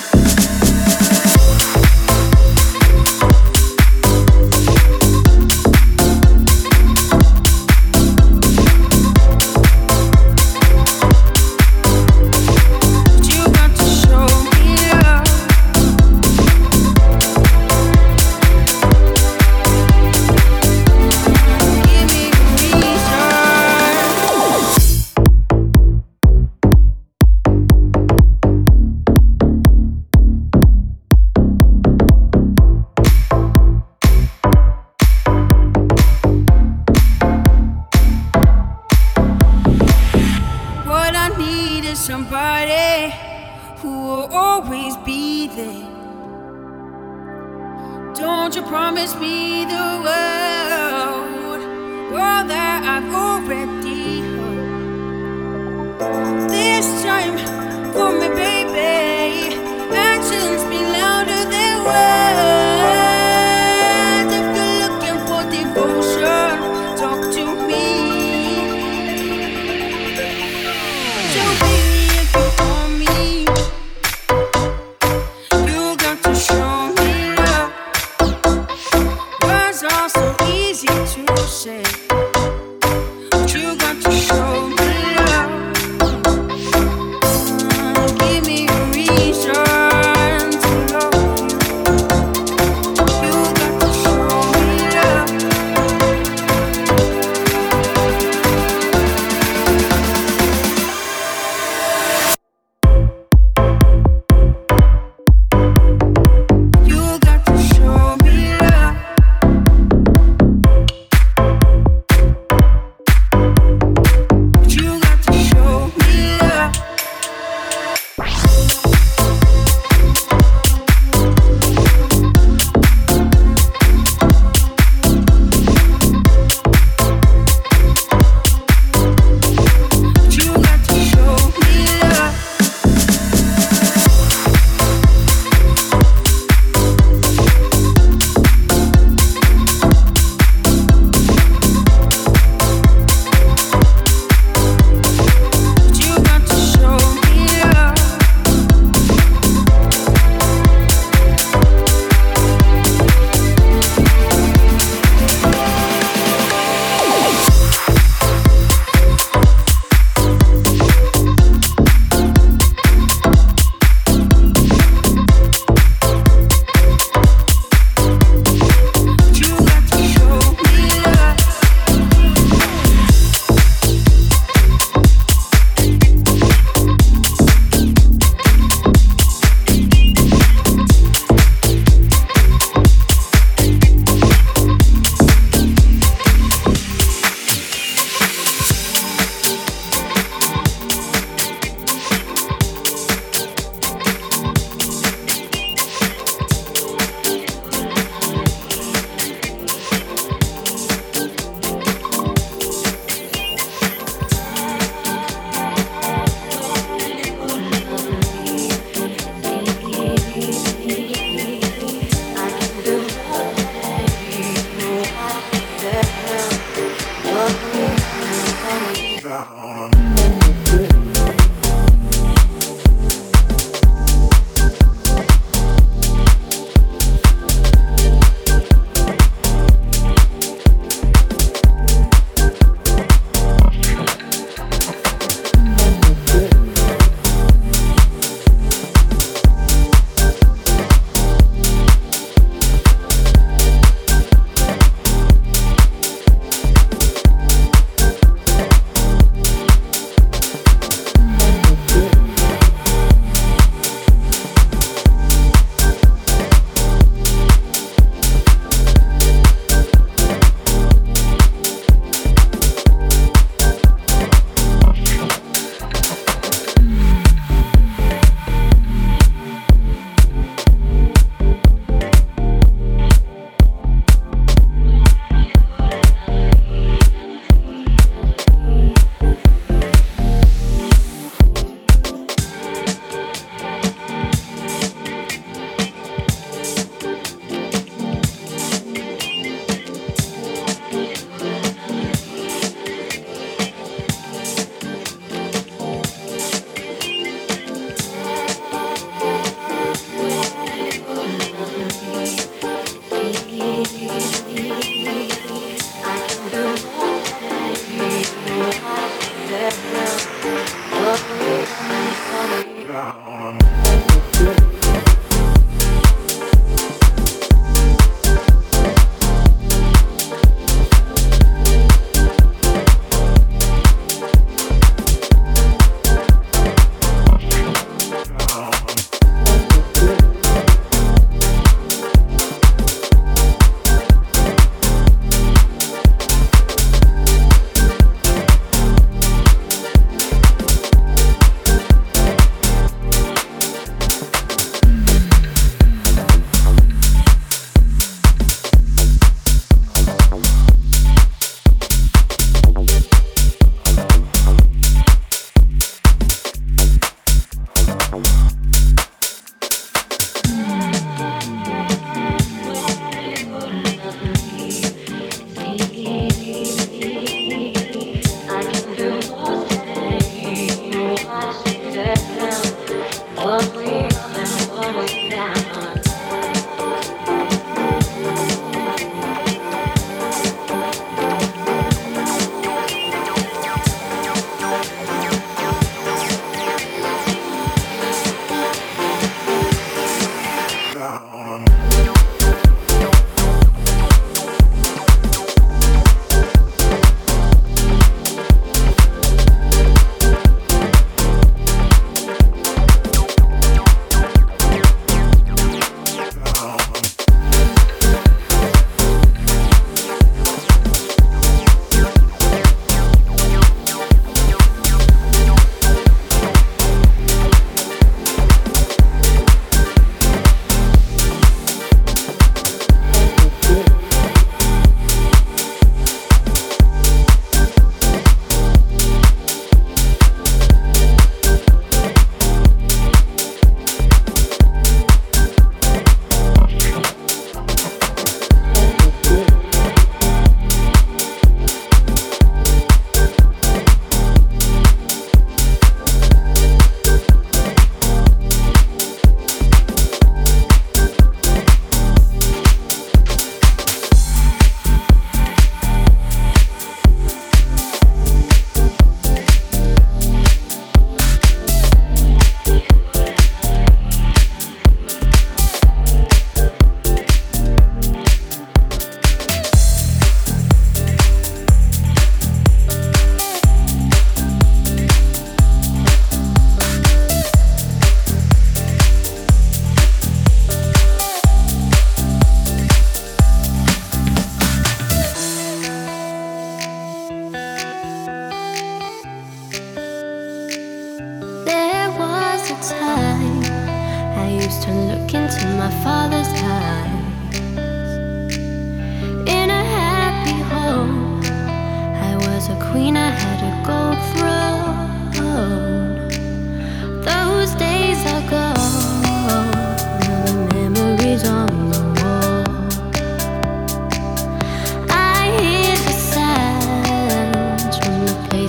But you got to show me love. Give me a reason. What I need is somebody who will always be there. Don't you promise me the world that I've already heard. This time, for me, baby. Actions speak louder than words. If you're looking for devotion, talk to me. So baby, if you want me, you got to show me love. Words are so easy to say, but you got to show me love. Give me a reason to love you. You got to show me love. You got to show me love.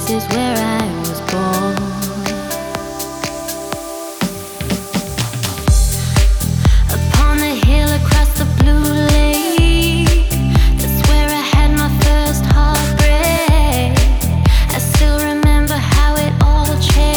this is where I was born. Upon the hill across the blue lake, that's where I had my first heartbreak. I still remember how it all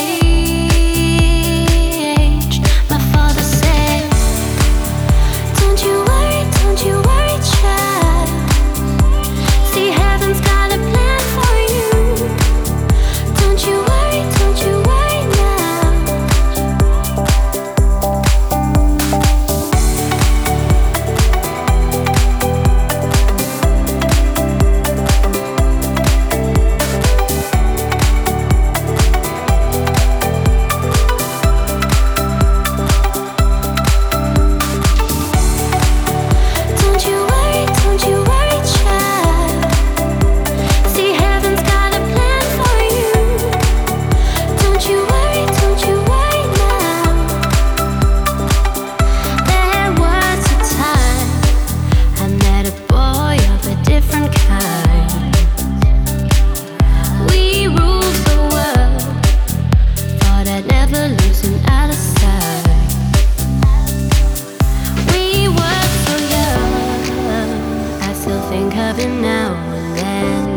changed. My father said, don't you worry, child. See, heaven's got a plan for you. Don't you worry now. Don't you worry, child. See, heaven's got a plan for you. Don't you worry now. There was a time I met a boy of a different kind. We ruled the world, thought I'd never lose him out of sight. We were so young, I still think of him now and then.